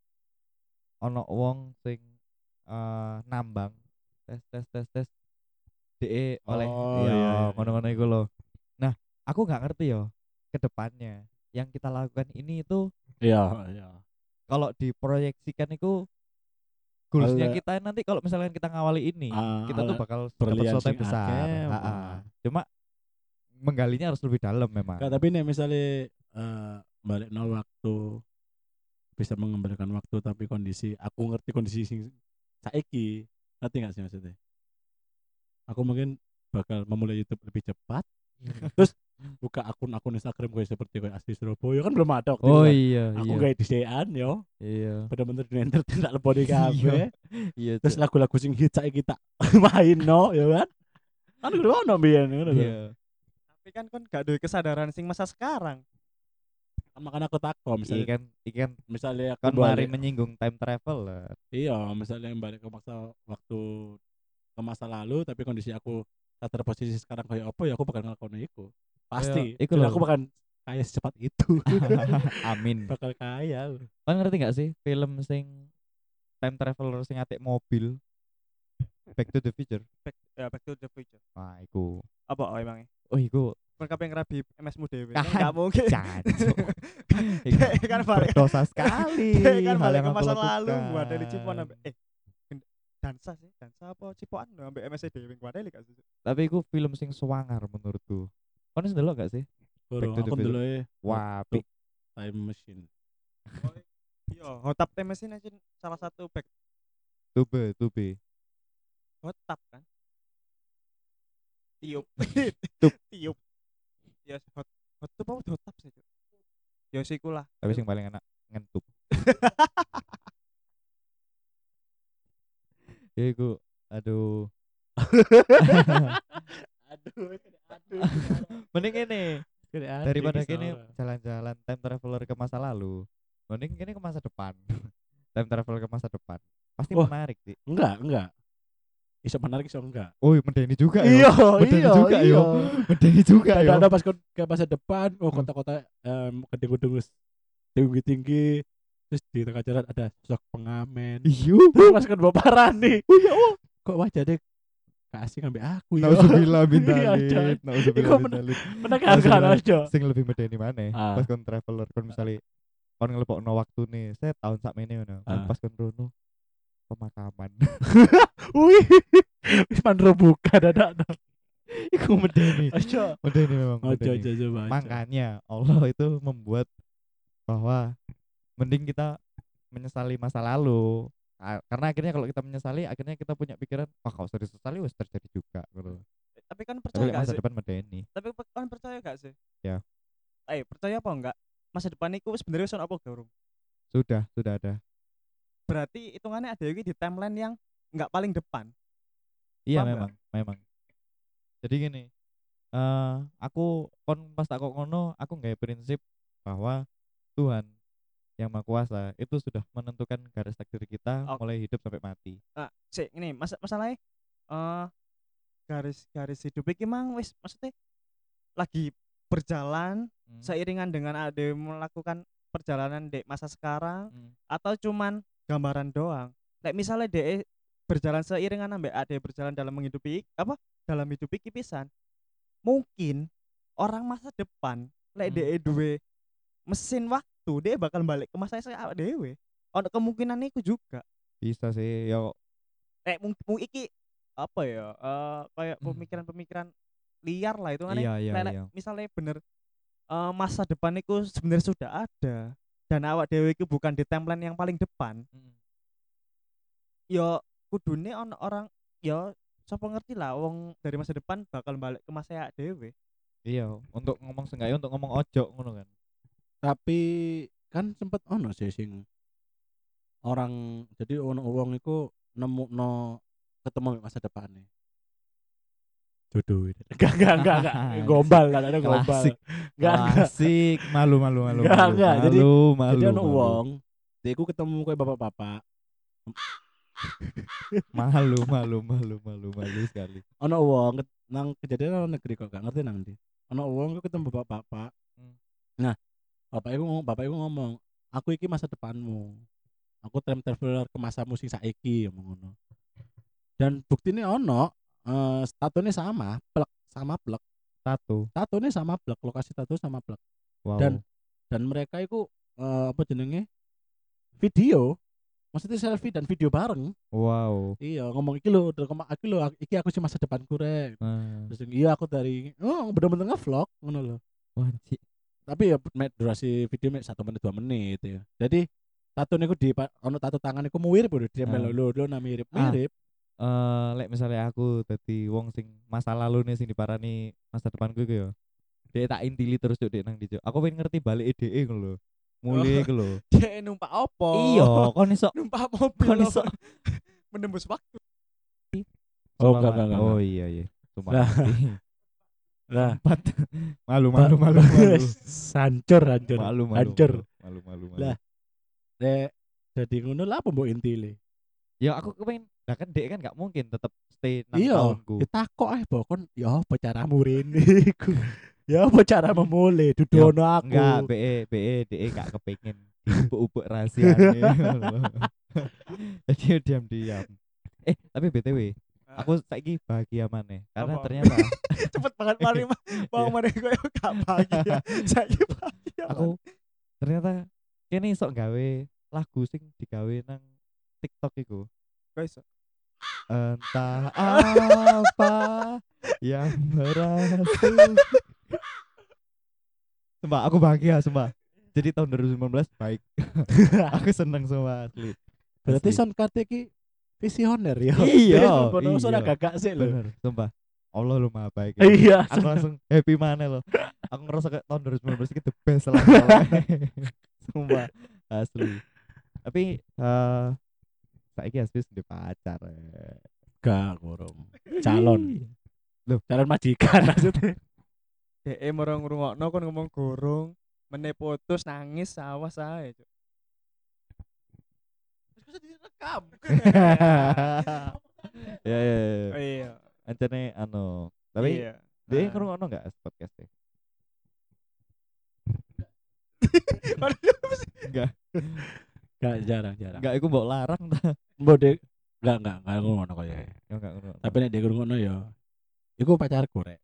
Speaker 1: ono wong sing eh, nambang, tes tes tes tes, de oleh
Speaker 2: Oh
Speaker 1: ya
Speaker 2: iya iya.
Speaker 1: ngono-ngono iku loh. Nah, aku nggak ngerti yo ke depannya yang kita lakukan ini itu
Speaker 2: Iya iya.
Speaker 1: kalau diproyeksikan itu goalsnya
Speaker 2: Oleh
Speaker 1: kita nanti kalau misalkan kita ngawali ini
Speaker 2: ah,
Speaker 1: kita tuh
Speaker 2: oleh
Speaker 1: bakal dapat
Speaker 2: berlian
Speaker 1: sesuatu
Speaker 2: sing
Speaker 1: yang besar.
Speaker 2: akeh,
Speaker 1: Ha-ha.
Speaker 2: ah.
Speaker 1: Cuma menggalinya harus lebih dalam memang.
Speaker 2: Kak, tapi nih misalnya eh, balik no waktu bisa mengembalikan waktu tapi kondisi aku ngerti kondisi sing saiki ngerti nggak sih maksudnya aku mungkin bakal memulai YouTube lebih cepat terus buka akun-akun Instagram gue seperti kayak Asli Surabaya kan belum ada waktu
Speaker 1: Oh
Speaker 2: itu kan.
Speaker 1: iya
Speaker 2: Aku
Speaker 1: iya.
Speaker 2: gak disean yo
Speaker 1: Iya.
Speaker 2: bener-bener di entertain tak lebih kafe
Speaker 1: Iya.
Speaker 2: terus
Speaker 1: Cuk.
Speaker 2: lagu-lagu sing hit saiki tak main no ya kan kan gue ono biyen ngono lho.
Speaker 1: Iya.
Speaker 3: Tapi kan kon gak ada kesadaran sing masa sekarang.
Speaker 2: Kan makanya aku takut
Speaker 1: Iya
Speaker 2: misalnya
Speaker 1: kan, iya kan
Speaker 2: misalnya aku
Speaker 1: kan mari
Speaker 2: balik
Speaker 1: menyinggung time travel lah.
Speaker 2: iya misalnya yang balik ke masa waktu ke masa lalu tapi kondisi aku tak terposisi sekarang kayak apa ya aku bakal ngelakuin itu pasti
Speaker 1: iku
Speaker 2: dan
Speaker 1: lho.
Speaker 2: aku bakal kaya secepat itu
Speaker 1: Amin.
Speaker 2: bakal kaya
Speaker 1: Kan ngerti gak sih film sing time traveler sing atik mobil Back to the Future?
Speaker 3: Back ya back to the future.
Speaker 1: Nah, iku.
Speaker 3: Apa oh emangnya?
Speaker 1: Oh, iku
Speaker 3: Kon kabeh ngerabi M S mu dhewe.
Speaker 1: Ah,
Speaker 3: Enggak mungkin.
Speaker 1: jancuk.
Speaker 3: Kayak kan balik
Speaker 1: Berdosa sekali
Speaker 3: kayak kan
Speaker 1: hal
Speaker 3: balik
Speaker 1: yang
Speaker 3: ke
Speaker 1: aku
Speaker 3: masa
Speaker 1: lakukan.
Speaker 3: lalu buat dari Cipuan ambek eh gen- dansa sih, dansa apa Cipuan ambek M S dhewe kuwi ada gak sih?
Speaker 1: Tapi iku film sing sewangar menurutku. Kau wis ndelok gak sih?
Speaker 2: Bro,
Speaker 1: Back to the
Speaker 2: aku
Speaker 1: Future.
Speaker 2: dulu ya
Speaker 1: Wah,
Speaker 2: waktu
Speaker 1: pi-
Speaker 2: time machine
Speaker 3: Oh, iya, Hotap Time Machine aja salah satu back
Speaker 1: tube, tube.
Speaker 3: Hotap kan. Tiup.
Speaker 1: Tup.
Speaker 3: Tiup. Ya hot hot tup apa hotap sih, Cuk? Ya sih lah.
Speaker 1: Tapi sing paling enak ngentup. Ya iku aduh.
Speaker 2: aduh aduh
Speaker 1: Mending ini
Speaker 2: Kira
Speaker 1: daripada
Speaker 2: adik,
Speaker 1: kini
Speaker 2: Sarah.
Speaker 1: jalan-jalan time traveler ke masa lalu. Mending kini ke masa depan. Time traveler ke masa depan. Pasti
Speaker 2: Wah.
Speaker 1: menarik sih.
Speaker 2: enggak enggak iso menarik iso enggak.
Speaker 1: Oh, medeni juga
Speaker 2: Iya,
Speaker 1: ya. Medeni
Speaker 2: iya,
Speaker 1: juga
Speaker 2: iya.
Speaker 1: ya. Medeni juga ya.
Speaker 2: Ada pas kon- ke masa depan, oh
Speaker 1: Hmm.
Speaker 2: kota-kota em gedung-gedung wis tinggi-tinggi, terus di tengah jalan ada sosok pengamen.
Speaker 1: Iya.
Speaker 2: Terus pas kon bawa parani.
Speaker 1: Oh ya Allah.
Speaker 2: Kok wajahnya kasih ngambil aku ya.
Speaker 1: Nauzubillah min
Speaker 2: Iya,
Speaker 1: dzalik.
Speaker 2: Cok.
Speaker 1: Nauzubillah
Speaker 2: Iku
Speaker 1: min
Speaker 2: men-
Speaker 1: dzalik.
Speaker 2: Menegangkan
Speaker 1: Nauzubillah.
Speaker 2: aja.
Speaker 1: Sing lebih medeni maneh.
Speaker 2: Ah.
Speaker 1: Pas kon traveler kon misale kon ngelepokno waktune, saya tahun sakmene ngono.
Speaker 2: Ah.
Speaker 1: Pas kon rono pemakaman.
Speaker 2: Wih. Wis mandro buka dadak.
Speaker 1: Iku medeni.
Speaker 2: Aja.
Speaker 1: Medeni memang
Speaker 2: Ojo
Speaker 1: medeni.
Speaker 2: aja coba.
Speaker 1: Makanya Allah itu membuat bahwa mending kita menyesali masa lalu. Ka- Karena akhirnya kalau kita menyesali, akhirnya kita punya pikiran, wah kalau sudah disesali wes terjadi juga gitu.
Speaker 3: Tapi kan
Speaker 1: Tapi
Speaker 3: percaya
Speaker 1: lek
Speaker 3: gak
Speaker 1: masa
Speaker 3: sih?
Speaker 1: depan medeni.
Speaker 3: Tapi pe- kan percaya gak sih?
Speaker 1: Ya.
Speaker 3: Eh, percaya apa enggak? Masa depan iku sebenarnya sono apa gurung?
Speaker 1: Sudah, sudah ada.
Speaker 3: Berarti hitungannya ada lagi di timeline yang enggak paling depan.
Speaker 1: Iya
Speaker 3: Paham
Speaker 1: memang, memang. Jadi gini, eh aku kon pas tak kok ngono, aku nggak prinsip bahwa Tuhan yang Maha Kuasa itu sudah menentukan garis takdir kita
Speaker 3: Oke.
Speaker 1: mulai hidup sampai mati.
Speaker 3: Nah, sih ini mas masalahnya eh garis-garis hidup iki mang wis maksudnya lagi berjalan
Speaker 1: Hmm.
Speaker 3: seiringan dengan ada melakukan perjalanan dek masa sekarang
Speaker 1: Hmm.
Speaker 3: atau cuman gambaran doang. Kayak misalnya dek berjalan seiringan ambek ade berjalan dalam menghidupi apa dalam hidup iki pisan. Mungkin orang masa depan lek
Speaker 1: Hmm.
Speaker 3: dek duwe mesin waktu dia bakal balik ke masa saya awak dewe. Ono kemungkinan itu juga.
Speaker 1: Bisa sih, ya
Speaker 3: Eh mungkin iki apa ya? eh kayak
Speaker 1: Hmm.
Speaker 3: pemikiran-pemikiran liar lah itu kan.
Speaker 1: Iya, iya,
Speaker 3: Lek- lek
Speaker 1: iya.
Speaker 3: misalnya bener eh, masa depan itu sebenarnya sudah ada dan awak dewe itu bukan di timeline yang paling depan.
Speaker 1: Hmm.
Speaker 3: Ya kudune ono orang ya siapa ngerti lah wong dari masa depan bakal balik ke masa awak dewe.
Speaker 1: Iya, untuk ngomong seenggaknya untuk ngomong ojo ngono kan.
Speaker 2: Tapi kan sempet ono sih sing orang jadi ono wong iku nemu no ketemu masa depannya. Jodoh. Enggak enggak enggak enggak gombal lah ada gombal.
Speaker 1: Klasik.
Speaker 2: Enggak enggak.
Speaker 1: Klasik, malu malu malu.
Speaker 2: Enggak,
Speaker 1: malu,
Speaker 2: enggak. Jadi-
Speaker 1: malu, malu,
Speaker 2: Jadi ono
Speaker 1: malu.
Speaker 2: wong dia iku ketemu kayak bapak-bapak.
Speaker 1: Malu, malu, malu, malu, malu sekali.
Speaker 2: Ono wong ket- nang kejadian nang negeri kok gak ngerti nang ndi. Ono wong iku ketemu bapak-bapak.
Speaker 1: Hmm.
Speaker 2: Nah, bapak iku ngomong, bapak iku ngomong, "Aku iki masa depanmu. Aku time traveler ke masamu sing saiki," ngomong ngono. Dan buktine ono, eh statune sama, plek sama plek.
Speaker 1: Satu.
Speaker 2: Tatune sama plek, lokasi tato sama plek.
Speaker 1: Wow.
Speaker 2: Dan dan mereka itu eh, apa jenenge? Video. Maksudnya selfie dan video bareng.
Speaker 1: Wow.
Speaker 2: Iya, ngomong iki lho, iki lho, iki aku sih masa depanku rek.
Speaker 1: Nah,
Speaker 2: Terus iya aku dari oh bener-bener nge-vlog ngono loh.
Speaker 1: wajib.
Speaker 2: Tapi ya met durasi video mek satu menit dua menit ya. Jadi tato niku di pa- ono tato tangan niku mirip lho dia
Speaker 1: Ah.
Speaker 2: melo lho lho nah mirip
Speaker 1: Ah.
Speaker 2: mirip.
Speaker 1: Eh, lek misalnya aku dadi wong sing masa lalu nih sing diparani masa depanku iku ya. Dia tak intili terus cuk dek nang dijo. Aku pengen ngerti balik E D E ngono lho. Mulai iku lho.
Speaker 3: Dia numpak opo?
Speaker 1: Iya, kon iso
Speaker 3: numpak mobil.
Speaker 1: kon iso.
Speaker 3: menembus waktu.
Speaker 2: Oh
Speaker 1: Sumpah,
Speaker 2: enggak
Speaker 1: Pak.
Speaker 2: enggak enggak.
Speaker 1: Oh iya iya. Sumpah.
Speaker 2: Lah.
Speaker 1: mati.
Speaker 2: Lah,
Speaker 1: Empat. Malu malu malu malu.
Speaker 2: hancur hancur.
Speaker 1: Malu malu.
Speaker 2: Hancur.
Speaker 1: Malu malu malu.
Speaker 2: Lah. Dek jadi ngono lah apa mbok intile?
Speaker 1: Ya aku kepengen, lah kan dek kan gak mungkin tetap stay nang
Speaker 2: Iya,
Speaker 1: tahunku.
Speaker 2: ditakok ae bokon ya apa caramu rene iku. Ya apa cara memulai
Speaker 1: Ya,
Speaker 2: dudono aku.
Speaker 1: Enggak, BE BE DE gak kepengen diubuk-ubuk rahasianya. Jadi diam-diam. Eh, tapi B T W, aku saiki bahagia maneh karena
Speaker 3: Apa?
Speaker 1: ternyata
Speaker 3: Cepet banget mari mah. Mau
Speaker 1: Iya.
Speaker 3: mari koyo gak bahagia. Saya bahagia.
Speaker 1: aku ternyata kene iso gawe lagu sing digawe nang TikTok iku.
Speaker 3: guys.
Speaker 1: Entah apa yang berhasil. Sumpah aku bahagia sumpah. Jadi tahun dua ribu sembilan belas baik. Aku seneng semua asli.
Speaker 2: Berarti
Speaker 1: Asli.
Speaker 2: son kate ki visioner ya.
Speaker 1: Iya,
Speaker 2: Bono
Speaker 1: iya.
Speaker 2: ora gagak sih lho.
Speaker 1: Bener, sumpah. Allah lu maha baik. ya.
Speaker 2: Iya.
Speaker 1: Aku langsung happy mana loh. Aku ngerasa kayak tahun dua ribu sembilan belas itu the best lah. Sumpah asli. Tapi eh saiki asli di pacar. eh.
Speaker 2: Gak gorong. Calon.
Speaker 1: Loh.
Speaker 2: Calon majikan maksudnya.
Speaker 3: D E merong ngrungokno kon ngomong gorong, meneh putus nangis awas ae, Cuk. Terus bisa direkam.
Speaker 1: Ya ya ya.
Speaker 3: Oh, iya.
Speaker 1: Ancene anu. Tapi
Speaker 3: iya.
Speaker 1: dia
Speaker 3: Ah.
Speaker 1: ngrungokno enggak podcast e? Enggak.
Speaker 2: Gak jarang jarang.
Speaker 1: Enggak iku mbok larang ta.
Speaker 2: Mbok dek enggak enggak enggak ngono kaya.
Speaker 1: Ya enggak ngrungokno.
Speaker 2: Tapi nek dia ngono ya iku pacarku rek.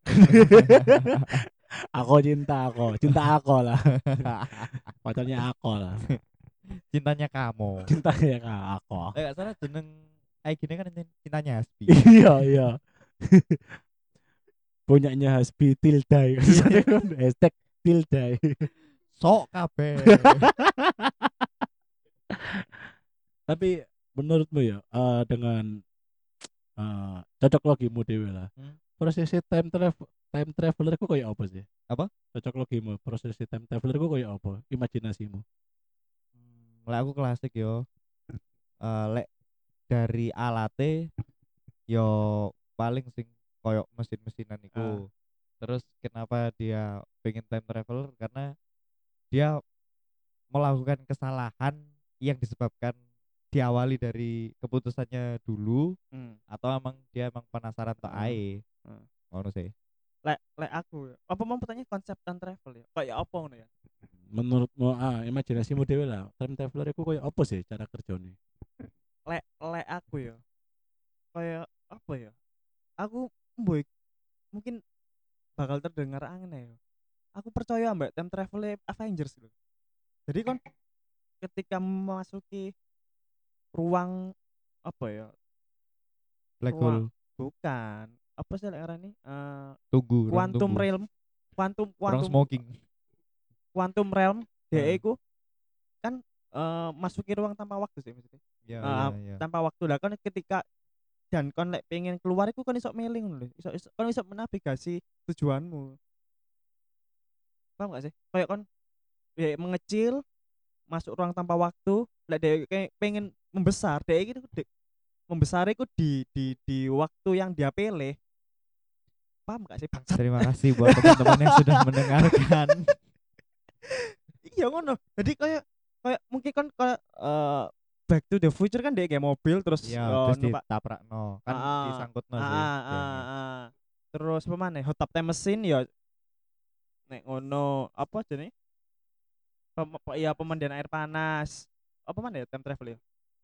Speaker 2: Aku cinta aku, cinta aku lah. Pacarnya aku lah.
Speaker 1: Cintanya kamu.
Speaker 2: Cintanya kak aku.
Speaker 1: Eh enggak salah jeneng I G-ne kan cintanya Hasbi.
Speaker 2: Iya iya. Punyanya Hasbi Tildai. Hashtag Tildai.
Speaker 1: Sok kabeh.
Speaker 2: Tapi menurutmu ya eh, dengan eh, cocok logimu dewe lah.
Speaker 1: Hmm?
Speaker 2: Prosesi time travel time traveler ku kayak apa sih?
Speaker 1: Apa?
Speaker 2: Cocok logimu, prosesi time traveler ku kayak apa? Imajinasimu.
Speaker 1: Hmm, lek aku klasik yo. Eh lek dari alate yo paling sing koyok mesin-mesinan iku. Terus kenapa dia pengen time traveler karena dia melakukan kesalahan yang disebabkan diawali dari keputusannya dulu
Speaker 3: Hmm.
Speaker 1: atau emang dia emang penasaran tok
Speaker 3: Hmm.
Speaker 1: ae.
Speaker 3: Hmm.
Speaker 1: Ngono sih.
Speaker 3: Lek lek aku ya. Apa mau bertanya konsep time travel ya? Kayak apa ngono ya?
Speaker 2: Menurutmu ah imajinasimu dewe lah. Time traveler ku kayak apa sih cara kerjanya?
Speaker 3: Lek lek aku ya. Kayak apa ya? Aku boy mungkin bakal terdengar aneh ya. Aku percaya mbak time travel Avengers loh. Jadi kan ketika memasuki ruang apa ya?
Speaker 1: Black
Speaker 3: Ruang
Speaker 1: hole.
Speaker 3: bukan. Apa sih lek arane? Eh
Speaker 1: Tunggu, ruang
Speaker 3: quantum
Speaker 1: tunggu.
Speaker 3: realm. Quantum
Speaker 1: Ruang
Speaker 3: quantum
Speaker 1: smoking.
Speaker 3: quantum realm dia
Speaker 1: Heeh.
Speaker 3: iku kan eh, masuki ruang tanpa waktu sih maksudnya.
Speaker 1: Ya
Speaker 3: Eh,
Speaker 1: ya ya.
Speaker 3: tanpa waktu lah kan ketika dan kon lek pengen keluar iku kan iso mailing lho. Iso, iso kon iso menavigasi tujuanmu. Paham gak sih? Kayak kon ya, mengecil masuk ruang tanpa waktu, lek dia kayak pengen membesar, dia gitu de, membesar iku di di di waktu yang dia pilih. Paham gak sih bangsat?
Speaker 1: Terima kasih buat teman-teman yang sudah mendengarkan.
Speaker 3: Iya ngono. Jadi kayak kayak mungkin kan kayak eh, Back to the Future kan dia kayak mobil terus
Speaker 1: Ya,
Speaker 3: eh,
Speaker 1: terus
Speaker 3: numpak
Speaker 1: ditaprakno. Kan
Speaker 3: ah, ah,
Speaker 1: disangkutno
Speaker 3: ah,
Speaker 1: sih.
Speaker 3: ah, ah,
Speaker 1: tiangnya.
Speaker 3: ah. Terus apa maneh? Hot tub time machine ya nek ngono apa jenenge? Pem, pe- ya pemandian air panas. Apa mana ya time travel ya?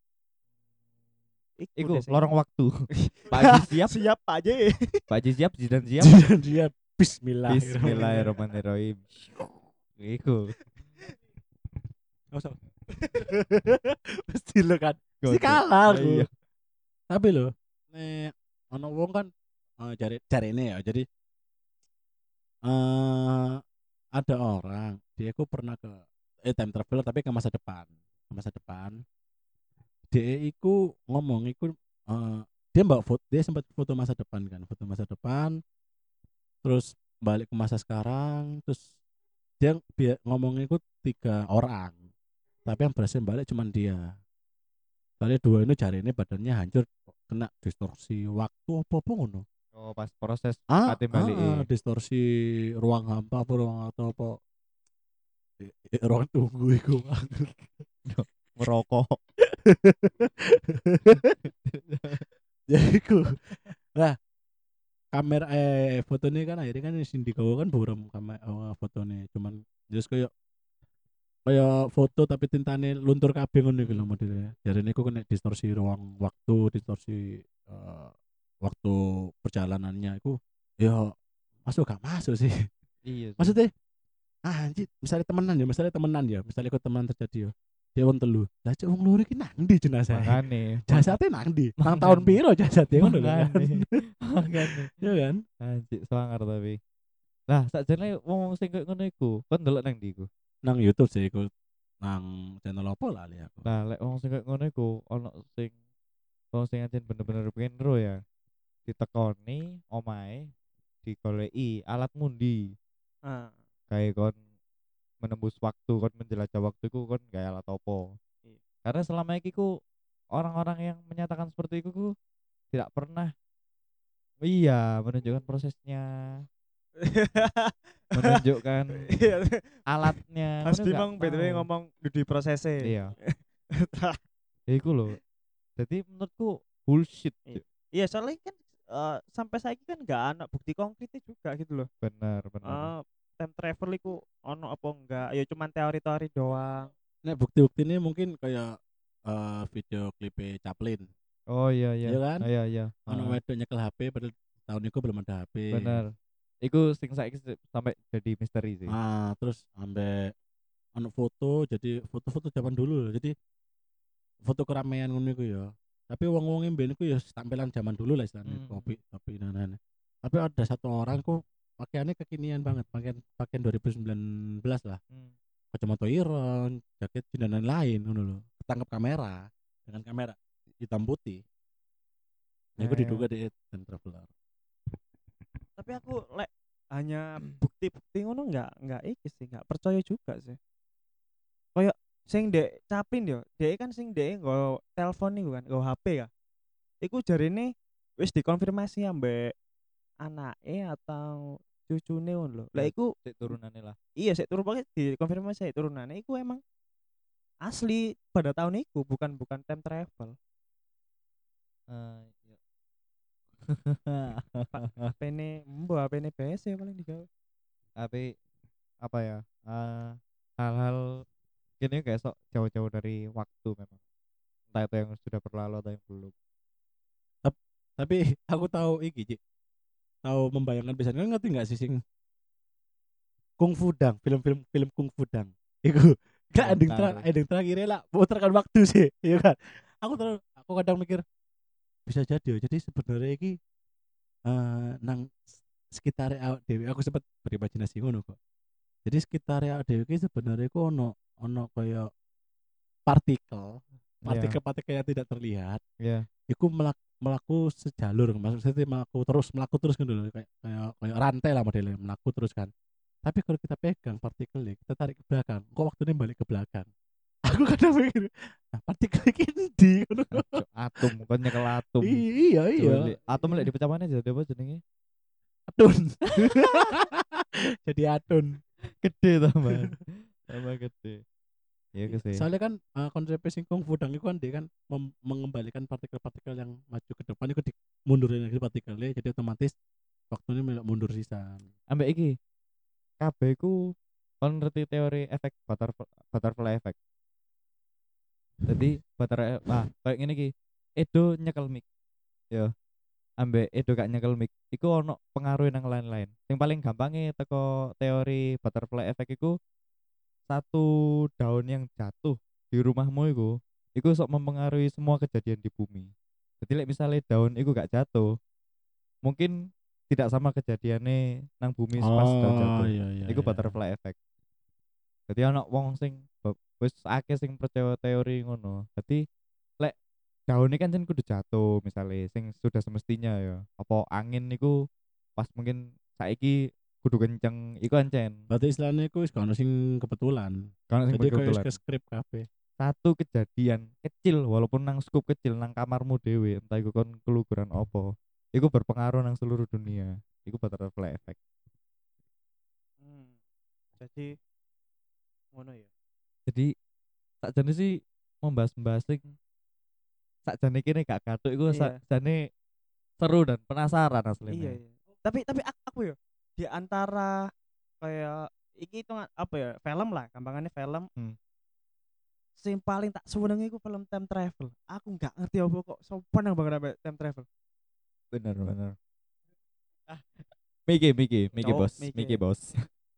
Speaker 1: Iku
Speaker 3: deh sing-
Speaker 1: lorong waktu. Pak Haji siap,
Speaker 3: siap Pak J.
Speaker 1: Pak Haji siap, Jidan siap.
Speaker 2: Jidan dia Bismillah.
Speaker 1: Bismillahirrahmanirrahim. Iku.
Speaker 2: Gak usah. Pasti lo kan. Pasti
Speaker 1: Gosok.
Speaker 2: kalah
Speaker 1: Ah, iya.
Speaker 2: aku. Tapi lo, nek ono wong kan eh, cari cari ini ya. Jadi eh ada orang dia ku pernah ke eh time traveler tapi ke masa depan. Ke masa depan. Dia iku ngomong iku eh, dia mbak foto dia sempat foto masa depan kan, foto masa depan. Terus balik ke masa sekarang, terus dia bi- ngomong iku tiga orang. Tapi yang berhasil balik cuma dia. Soalnya dua ini jari ini badannya hancur kena distorsi waktu apa-apa ngono.
Speaker 1: Oh, pas proses
Speaker 2: Ah,
Speaker 1: kate balik.
Speaker 2: ah, distorsi ruang hampa apa ruang atau apa. Eh, eh, ruang tunggu iku.
Speaker 1: Merokok.
Speaker 2: Jadi iku. Lah, kamera eh fotonya kan akhirnya kan sing digawa kan buram kamera oh, fotonya cuman just kayak kayak foto tapi tintane luntur kabeh ngono iku lho modelnya. Jarine iku kena distorsi ruang waktu, distorsi eh, waktu perjalanannya iku ya masuk gak masuk sih.
Speaker 1: Iya. sih.
Speaker 2: Maksudnya ah, anjir, misalnya temenan ya, misalnya temenan ya, misalnya ikut temenan terjadi ya. Dia wong telu. Lah cek wong loro iki nang ndi jenazah?
Speaker 1: Makane.
Speaker 2: Jasadnya nang ndi? Nang
Speaker 1: Makane.
Speaker 2: tahun piro jasadnya ngono lho kan.
Speaker 1: Makane. Makane.
Speaker 2: Ya kan?
Speaker 1: Anjir, sangar tapi. Lah, sakjane wong sing koyo ngono iku, kon ndelok nang ndi iku?
Speaker 2: Nang YouTube sih ikut nang channel apa lah li aku.
Speaker 1: Nah, lek wong sing koyo ngono iku ono sing wong sing ancen bener-bener pengen ro ya. Ditekoni omahe, digoleki alat ngundi.
Speaker 3: Ah,
Speaker 1: Kayak kon menembus waktu, kon menjelajah waktu iku kon gawe alat opo.
Speaker 3: Iya.
Speaker 1: Karena selama iki ku orang-orang yang menyatakan seperti itu ku tidak pernah iya menunjukkan prosesnya, menunjukkan
Speaker 3: Iya.
Speaker 1: alatnya.
Speaker 3: Mas
Speaker 1: Ngono
Speaker 3: Bimang
Speaker 1: nggak
Speaker 3: B T W
Speaker 1: mau.
Speaker 3: ngomong di prosesnya.
Speaker 1: Iya. Ya iku lho. Jadi menurutku bullshit.
Speaker 3: Iya.
Speaker 1: Cuk.
Speaker 3: Iya, soalnya kan eh, sampai saiki kan nggak ada bukti konkretnya juga gitu loh.
Speaker 1: Benar, benar.
Speaker 3: Eh time travel iku ono apa enggak? Ya cuman teori-teori doang.
Speaker 2: Nek bukti-bukti ini mungkin kayak eh, video klipe Chaplin,
Speaker 1: Oh iya iya.
Speaker 2: iya kan?
Speaker 1: Ah, iya iya.
Speaker 2: Ono
Speaker 1: Heeh.
Speaker 2: wedok nyekel H P padahal tahun itu belum ada H P.
Speaker 1: Benar. Iku sing saiki se- sampai jadi misteri sih.
Speaker 2: Ah, terus ambek ono foto, jadi foto-foto zaman dulu loh. Jadi foto keramaian ngono iku ya. Tapi wong-wong mben iku ya tampilan zaman dulu lah istilahnya,
Speaker 1: Hmm.
Speaker 2: topi topi dan lain. Tapi ada satu orang kok pakaiannya kekinian banget, pakaian pakaian dua ribu sembilan belas lah.
Speaker 1: Hmm.
Speaker 2: Kacamata ireng, jaket jeans dan lain-lain ngono lho. Ketangkep kamera dengan kamera hitam putih. Nah, itu diduga
Speaker 1: Eh,
Speaker 2: di time traveler.
Speaker 3: Tapi aku lek hanya bukti-bukti ngono enggak enggak iki sih, enggak percaya juga sih. Kayak sing dek Capin yo, dek kan sing dek nggo telepon niku kan, nggo H P ya. Iku jarine wis dikonfirmasi ambek anake atau cucune ngono lho. Lah
Speaker 1: ya,
Speaker 3: iku
Speaker 1: sik turunannya lah.
Speaker 3: iya sik turun pokoknya dikonfirmasi turunane iku emang asli pada tahun itu, bukan bukan time travel.
Speaker 1: Eh, iya.
Speaker 3: Pak H P-ne mbok H P-ne P C paling digawe.
Speaker 1: Tapi apa ya? eh, hal-hal gini kayak sok jauh-jauh dari waktu memang. Entah itu yang sudah berlalu atau yang belum.
Speaker 2: Tap- Tapi aku tahu iki, Cik. Tahu membayangkan biasanya kan ngerti nggak sih sing Kung Fu Dang, film-film film Kung Fu Dang. Iku gak
Speaker 1: Belum
Speaker 2: ending
Speaker 1: tahu.
Speaker 2: terakhir, ending terakhirnya lah memutarkan waktu sih, iya kan? Aku terus aku kadang mikir bisa jadi ya. Jadi sebenarnya iki eh nang sekitar awak dewi aku sempat berimajinasi ngono kok. Jadi sekitar awak dewi iki sebenarnya ku ono ono kayak partikel,
Speaker 1: Iya,
Speaker 2: partikel-partikel yang tidak terlihat.
Speaker 1: iya.
Speaker 2: Iku melak, melaku sejalur, maksudnya melaku terus melaku terus gitu loh, kayak kayak kayak rantai lah modelnya melaku terus kan. Tapi kalau kita pegang partikelnya, kita tarik ke belakang, kok waktunya balik ke belakang. Aku kadang mikir, nah partikel ini di ngono.
Speaker 1: Aduh, atom, kan nyekel atom.
Speaker 2: Iya iya.
Speaker 1: Culik. Atom lek dipecah mana jadi apa jenenge?
Speaker 2: Atun. Jadi atun.
Speaker 1: Gede tambahan. Tambah gede. Iya ke sih.
Speaker 2: Soalnya kan uh, konsep sing Kung Fu Dang itu kan dia kan mem- mengembalikan partikel-partikel yang maju ke depan itu di mundurin lagi partikelnya, jadi otomatis waktunya melok mundur sisan.
Speaker 1: Ambek iki, kabeh iku kon ngerti teori efek butterfly, butterfly effect. Jadi butterfly ah kayak ngene iki. Edo nyekel mic. Ya, ambek Edo gak nyekel mic. Iku ono pengaruh nang lain-lain. Yang paling gampangnya teko teori butterfly effect iku satu daun yang jatuh di rumahmu iku iku sok mempengaruhi semua kejadian di bumi. Jadi like misalnya daun iku gak jatuh, mungkin tidak sama kejadiannya nang bumi pas daun
Speaker 2: Oh
Speaker 1: jatuh.
Speaker 2: iya iya
Speaker 1: Iku
Speaker 2: iya.
Speaker 1: butterfly effect. Jadi anak wong sing be- wis akeh sing percaya teori ngono. Jadi lek daun ini kan jen kudu jatuh misalnya sing sudah semestinya ya. Apa angin niku pas mungkin saiki kudu kenceng iku ancen.
Speaker 2: Berarti istilahnya itu wis gak ono sing kebetulan.
Speaker 1: Karena sing
Speaker 2: Jadi kayak wis
Speaker 1: kebetulan
Speaker 2: ke skrip kabeh.
Speaker 1: satu kejadian kecil walaupun nang skup kecil nang kamarmu dewe entah iku kon keluguran opo iku berpengaruh nang seluruh dunia iku butterfly effect.
Speaker 3: Hmm. Jadi ngono ya.
Speaker 1: Jadi sakjane sih membahas-bahas sing sakjane kene gak katuk iku
Speaker 3: Iya.
Speaker 1: sakjane seru dan penasaran
Speaker 3: Iya,
Speaker 1: aslinya.
Speaker 3: iya. Tapi tapi ak- aku ya di antara kayak iki itu apa ya? Film lah, gampangannya film.
Speaker 1: Hmm.
Speaker 3: Sing paling tak seneng iku film time travel. Aku nggak ngerti apa kok sopan banget sampai time travel.
Speaker 1: Bener bener. Ah, Miki Miki Miki
Speaker 3: Cowok
Speaker 1: bos Miki
Speaker 3: mikir.
Speaker 1: bos.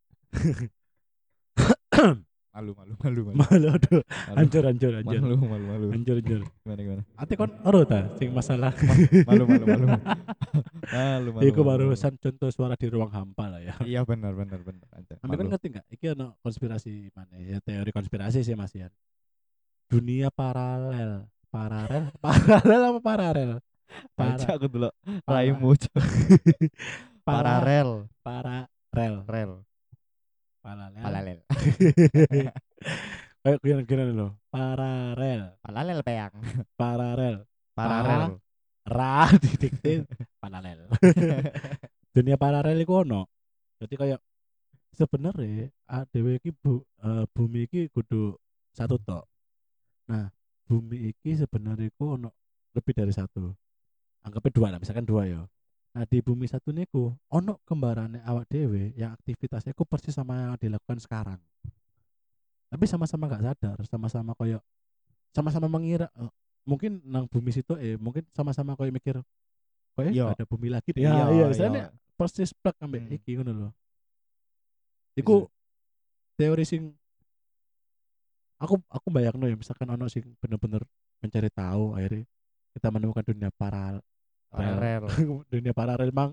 Speaker 1: Malu malu malu malu.
Speaker 2: Malu aduh.
Speaker 1: Malu
Speaker 2: Hancur hancur hancur.
Speaker 1: malu malu malu.
Speaker 2: Hancur hancur.
Speaker 1: Gimana gimana?
Speaker 2: Ate kon ero ta sing masalah.
Speaker 1: Malu malu malu. Malu malu.
Speaker 2: Iku
Speaker 1: malu, malu.
Speaker 2: barusan contoh suara di ruang hampa lah ya.
Speaker 1: Iya benar benar benar aja.
Speaker 2: Ambil kan
Speaker 1: Malu.
Speaker 2: ngerti nggak? Iki ono konspirasi mana ya? Teori konspirasi sih Mas Ian. Dunia paralel, paralel, paralel apa paralel? Para,
Speaker 1: Aja aku dulu
Speaker 2: para,
Speaker 1: raimu Cok.
Speaker 2: para,
Speaker 1: Paralel
Speaker 2: paralel,
Speaker 1: rel
Speaker 2: paralel.
Speaker 1: paralel
Speaker 2: Kayak gimana gimana lo? Paralel,
Speaker 1: paralel peyang
Speaker 2: paralel,
Speaker 1: paralel
Speaker 2: ra didikte paralel. Dunia paralel itu ono. Jadi kayak sebenarnya dhewe iki bu, eh, bumi iki kudu satu tok. Nah, bumi iki sebenarnya iku ono lebih dari satu. anggapnya dua lah, misalkan dua ya. Nah di bumi satu niku ono kembarannya awak dewe yang aktivitasnya ku persis sama yang dilakukan sekarang. Tapi sama-sama nggak sadar, sama-sama koyo sama-sama mengira eh, mungkin nang bumi situ eh mungkin sama-sama koyo mikir koyo
Speaker 1: Iya.
Speaker 2: nggak ada bumi lagi deh.
Speaker 1: Iya,
Speaker 2: Ya iya,
Speaker 1: iya.
Speaker 2: misalnya persis plek ambek
Speaker 1: Hmm.
Speaker 2: iki ngono lho.
Speaker 1: Bisa.
Speaker 2: Iku teori sing aku aku bayangno ya misalkan ono sing bener-bener mencari tahu akhirnya kita menemukan dunia paralel
Speaker 1: Paralel.
Speaker 2: dunia paralel mang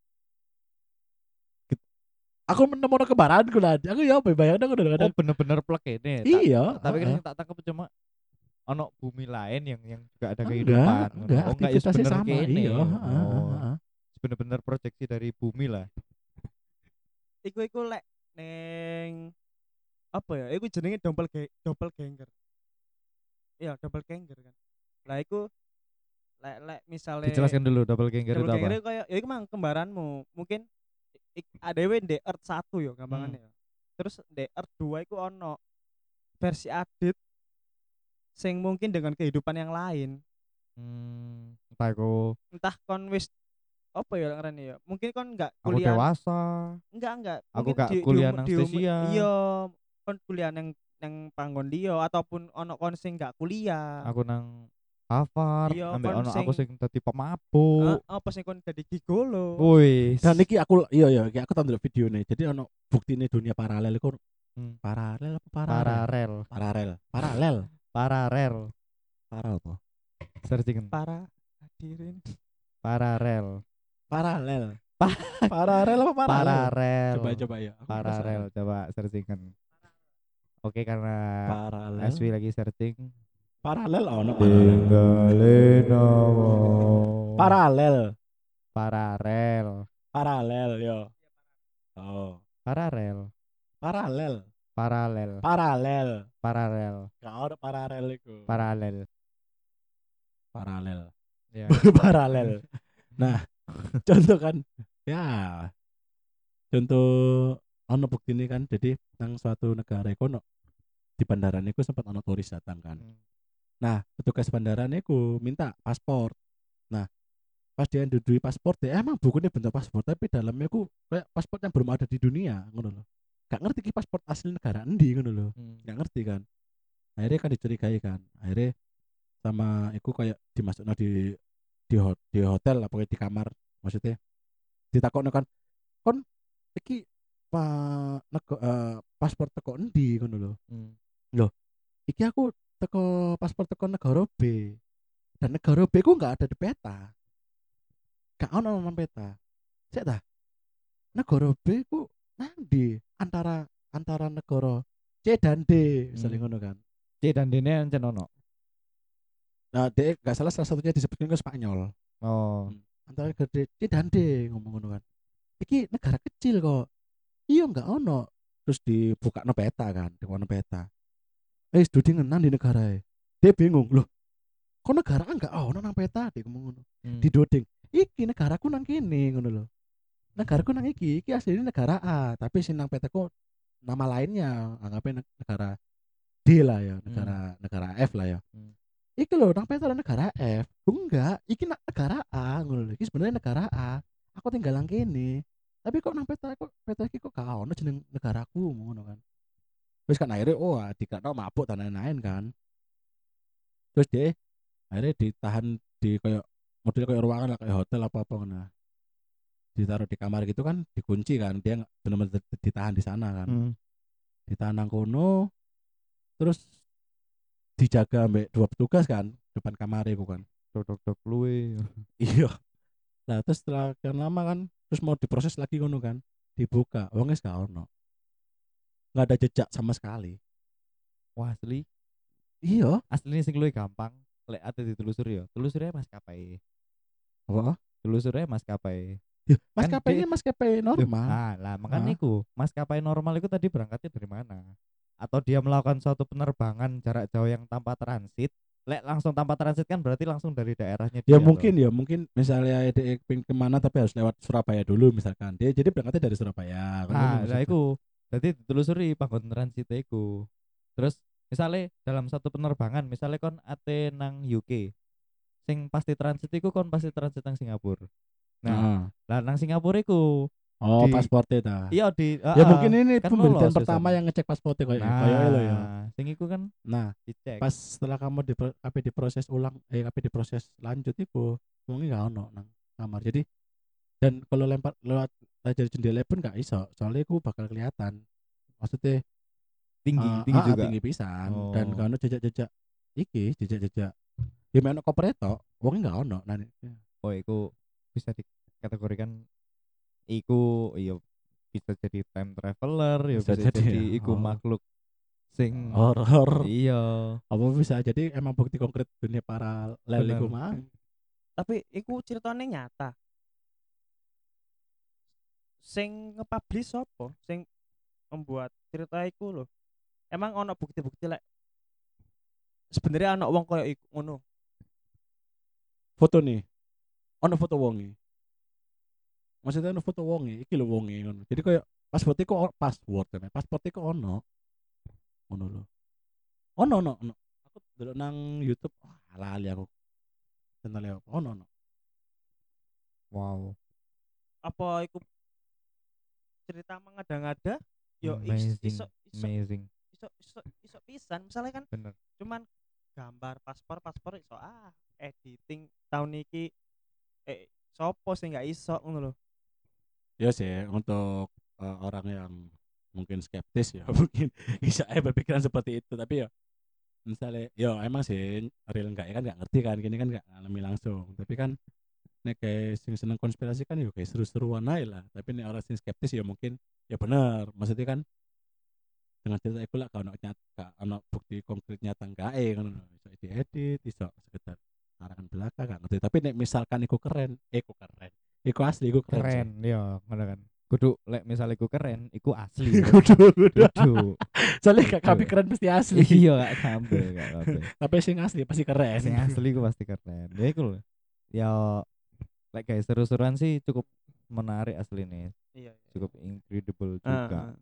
Speaker 2: Kit- aku menemukan kembaranku lah aku ya apa bayangno aku
Speaker 1: Oh,
Speaker 2: kadang
Speaker 1: bener-bener plek ini. Tak-
Speaker 2: iya
Speaker 1: Tapi kan
Speaker 2: heeh.
Speaker 1: yang tak tangkap cuma ono bumi lain yang yang juga ada
Speaker 2: enggak
Speaker 1: kehidupan. ngono.
Speaker 2: enggak
Speaker 1: Oh, enggak ya
Speaker 2: aktivitasnya
Speaker 1: bener
Speaker 2: sama
Speaker 1: kene.
Speaker 2: iya heeh, heeh,
Speaker 1: Oh,
Speaker 2: heeh.
Speaker 1: bener-bener proyeksi dari bumi lah.
Speaker 3: Iku iku lek neng apa ya? Iku jenenge double doppelganger. Iya, doppelganger kan. Lah iku lek lek misale
Speaker 1: Dijelaskan dulu doppelganger itu apa?
Speaker 3: doppelganger itu kayak ya iku mang kembaranmu. Mungkin ik- adewe di Earth satu ya gampangannya ya. Terus di Earth dua iku ono versi update sing mungkin dengan kehidupan yang lain.
Speaker 1: Hmm, entah aku
Speaker 3: Entah kon wis apa ya ngarani ya. Mungkin kon enggak
Speaker 1: aku
Speaker 3: kuliah
Speaker 1: dewasa,
Speaker 3: enggak enggak
Speaker 1: aku
Speaker 3: mungkin
Speaker 1: gak
Speaker 3: di, di,
Speaker 1: kuliah
Speaker 3: um-
Speaker 1: nang
Speaker 3: di, um-
Speaker 1: Stesia.
Speaker 3: iya kon kuliah nang nang panggon dia ataupun ono kon sing enggak kuliah.
Speaker 1: Aku nang Harvard,
Speaker 3: Iya,
Speaker 1: ambek
Speaker 3: kon
Speaker 1: ono aku
Speaker 3: sing-
Speaker 1: sing dadi pemabuk.
Speaker 3: Eh, apa sing kon jadi gigolo.
Speaker 1: Wis.
Speaker 2: Dan iki aku iya iya iki aku tonton video nih. Jadi ono bukti nih dunia paralel iku
Speaker 1: Hmm,
Speaker 2: paralel apa paralel?
Speaker 1: paralel,
Speaker 2: Paralel. Paralel.
Speaker 1: paralel.
Speaker 2: Paralel apa?
Speaker 1: Searching
Speaker 3: Para hadirin.
Speaker 1: paralel.
Speaker 2: Paralel.
Speaker 1: Pa-
Speaker 2: Paralel apa paralel?
Speaker 1: Paralel.
Speaker 2: Coba coba ya. Aku
Speaker 1: Paralel,
Speaker 2: penasaran.
Speaker 1: coba searchingkan. Oke, karena
Speaker 2: Paralel.
Speaker 1: S W lagi searching.
Speaker 2: Paralel ono paralel.
Speaker 1: Tinggalin nama.
Speaker 2: Paralel.
Speaker 1: Paralel.
Speaker 2: Paralel yo. Oh.
Speaker 1: Paralel.
Speaker 2: Paralel.
Speaker 1: Paralel.
Speaker 2: Paralel.
Speaker 1: Paralel.
Speaker 2: Gak ono paralel iku.
Speaker 1: Paralel.
Speaker 2: Paralel.
Speaker 1: Ya.
Speaker 2: Paralel. Nah, contoh kan ya contoh ono bukti ini kan jadi nang suatu negara iku ono di bandara niku sempat ono turis datang kan.
Speaker 1: Hmm.
Speaker 2: Nah, petugas bandara niku minta paspor. Nah, pas dia ndudui paspor dia emang bukunya bentuk paspor tapi dalamnya ku kayak paspor yang belum ada di dunia ngono loh. Gak ngerti ki paspor asli negara endi ngono loh.
Speaker 1: Hmm.
Speaker 2: Gak ngerti kan. Akhirnya kan dicurigai kan. Akhirnya sama iku kayak dimasukno di di, ho- di hotel apa di kamar maksudnya ditakokno kan kon iki pa nego, eh, paspor teko endi ngono lho.
Speaker 1: Hmm.
Speaker 2: Iki aku teko paspor teko negara B. Dan negara B ku enggak ada di peta. Gak ono nang peta. Sik ta? Negara B ku nang antara antara negara C dan D misalnya
Speaker 1: Hmm.
Speaker 2: ngono kan.
Speaker 1: C dan D nya encen ono.
Speaker 2: Nah, D enggak salah salah satunya disebutkan ke Spanyol.
Speaker 1: Oh.
Speaker 2: Antara gede C dan D ngomong ngono kan. Iki negara kecil kok. Iya enggak ono. Terus dibuka no peta kan, di no peta. Eh, studi ngenang di negara e. Dia bingung, loh. Kok negara enggak ono nang peta dia ngomong ngono.
Speaker 1: Hmm.
Speaker 2: Di doding. Iki negaraku nang kene ngono lho. Negaraku nang iki, iki aslinya negara A, tapi sing nang petaku nama lainnya, anggapnya neg- negara D lah ya, negara negara F lah ya.
Speaker 1: Hmm.
Speaker 2: Iki lho nang peta negara F. Oh, enggak, iki nak negara A ngono lho. Iki sebenarnya negara A. Aku tinggal nang kene. Tapi kok nang peta kok peta iki kok gak ono jeneng negaraku ngono kan. Terus kan akhirnya oh dikira mabuk dan lain-lain kan. Terus dia akhirnya ditahan di kayak model kayak ruangan lah kayak hotel apa apa ngono. Ditaruh di kamar gitu kan dikunci kan dia nggak benar-benar ditahan di sana kan.
Speaker 1: Hmm.
Speaker 2: Ditahan nang kono terus dijaga ambek dua petugas kan depan kamar itu kan.
Speaker 1: Dok-dok luwe.
Speaker 2: Iya. Nah terus setelah kan lama kan terus mau diproses lagi ngono kan dibuka wongnya gak ono nggak ada jejak sama sekali.
Speaker 1: Wah, asli.
Speaker 2: Iya
Speaker 1: Aslinya sing luwe gampang. Lek ate ditelusuri ya. Telusuri maskapai.
Speaker 2: apa
Speaker 1: Telusuri maskapai.
Speaker 2: ya,
Speaker 1: Kan
Speaker 2: maskapai
Speaker 1: dia-
Speaker 2: ini maskapai normal.
Speaker 1: Ah, lah makanya
Speaker 2: Ah.
Speaker 1: iku, maskapai normal itu tadi berangkatnya dari mana? Atau dia melakukan suatu penerbangan jarak jauh yang tanpa transit? Lek langsung tanpa transit kan berarti langsung dari daerahnya
Speaker 2: Ya
Speaker 1: dia
Speaker 2: mungkin
Speaker 1: toh.
Speaker 2: ya mungkin misalnya dia pengen kemana tapi harus lewat Surabaya dulu misalkan dia jadi berangkatnya dari Surabaya kan ngono
Speaker 1: Nah, nah
Speaker 2: maksudnya.
Speaker 1: iku. Jadi ditelusuri panggon transit iku. Terus misalnya dalam satu penerbangan, misalnya kon ate nang U K. sing pasti transit iku kon pasti transit nang Singapura. Nah,
Speaker 2: Heeh.
Speaker 1: lah nang Singapura iku
Speaker 2: Oh,
Speaker 1: di
Speaker 2: paspornya ta.
Speaker 1: iya di
Speaker 2: Ya
Speaker 1: heeh,
Speaker 2: mungkin ini
Speaker 1: kan
Speaker 2: pemberitaan
Speaker 1: lolos
Speaker 2: pertama
Speaker 1: wisan.
Speaker 2: yang ngecek paspornya kayak
Speaker 1: Nah,
Speaker 2: kayak lo ya.
Speaker 1: sing iku kan
Speaker 2: Nah,
Speaker 1: dicek.
Speaker 2: pas setelah kamu di K P diproses ulang eh K P diproses lanjut iku wong nggak ono nang kamar. Jadi dan kalau lempar lewat dari jendela pun nggak iso, soalnya iku bakal kelihatan. Maksudnya
Speaker 1: Tinggi,
Speaker 2: eh
Speaker 1: tinggi
Speaker 2: ah, ah,
Speaker 1: juga.
Speaker 2: tinggi pisan dan
Speaker 1: Oh.
Speaker 2: kalau jejak-jejak iki jejak-jejak ya ono koper tok, wong nggak ono. Nah,
Speaker 1: Oh, iku bisa dikategorikan iku iya bisa jadi time traveler, ya
Speaker 2: bisa
Speaker 1: bisa
Speaker 2: jadi
Speaker 1: jadi
Speaker 2: ya.
Speaker 1: iku
Speaker 2: Oh,
Speaker 1: makhluk sing
Speaker 2: horor.
Speaker 1: iya,
Speaker 2: Apa bisa jadi emang bukti konkret dunia paralel iku
Speaker 1: bener.
Speaker 2: mah.
Speaker 3: Tapi iku ceritanya nyata. Sing nge-publish sapa? Sing membuat cerita iku lho. Emang ono bukti-bukti lek sebenarnya anak wong koyo iku ngono.
Speaker 2: Foto nih, ono foto wonge. Maksudnya ono foto wonge, iki lho wonge ngono. Jadi kayak pasport iku o- password kan. Pasport iku ono. Ngono lho. Ono ono ono. Aku delok nang YouTube, wah lali aku. Channel apa? Ono ono.
Speaker 1: Wow,
Speaker 3: Apa iku cerita mengada-ngada? Yo is-
Speaker 1: amazing,
Speaker 3: iso iso
Speaker 1: amazing,
Speaker 3: iso iso iso pisan. Misalnya kan
Speaker 1: bener.
Speaker 3: cuman gambar paspor paspor iso ah editing tahun iki eh sopo sih nggak iso ngono lho.
Speaker 2: Ya sih untuk eh, orang yang mungkin skeptis ya mungkin bisa eh berpikiran seperti itu tapi ya misalnya ya emang sih real enggak ya kan nggak ngerti kan gini kan nggak ngalami langsung tapi kan nek kayak sing seneng konspirasi kan ya kayak seru-seruan aja lah tapi nek orang sing skeptis ya mungkin ya benar maksudnya kan dengan cerita itu lah kalau nyata kalau bukti konkret nyata enggak eh kan bisa diedit bisa sekedar karangan belaka gak ngerti tapi nek misalkan iku keren eh iku keren iku asli iku keren,
Speaker 1: Keren, ya, ngono kan. Kudu lek misal iku keren, iku asli.
Speaker 2: sih. kudu kudu
Speaker 1: Kudu.
Speaker 2: soalnya gak
Speaker 1: Kudu.
Speaker 2: kabeh keren pasti asli
Speaker 1: Iya, gak kabeh, gak kabeh.
Speaker 2: tapi sing asli pasti keren
Speaker 1: Sing asli ku pasti keren. Ya iku lho. Ya lek guys seru-seruan sih cukup menarik asli nih.
Speaker 3: Iya.
Speaker 1: Cukup incredible
Speaker 3: Ah,
Speaker 1: juga.
Speaker 3: ah.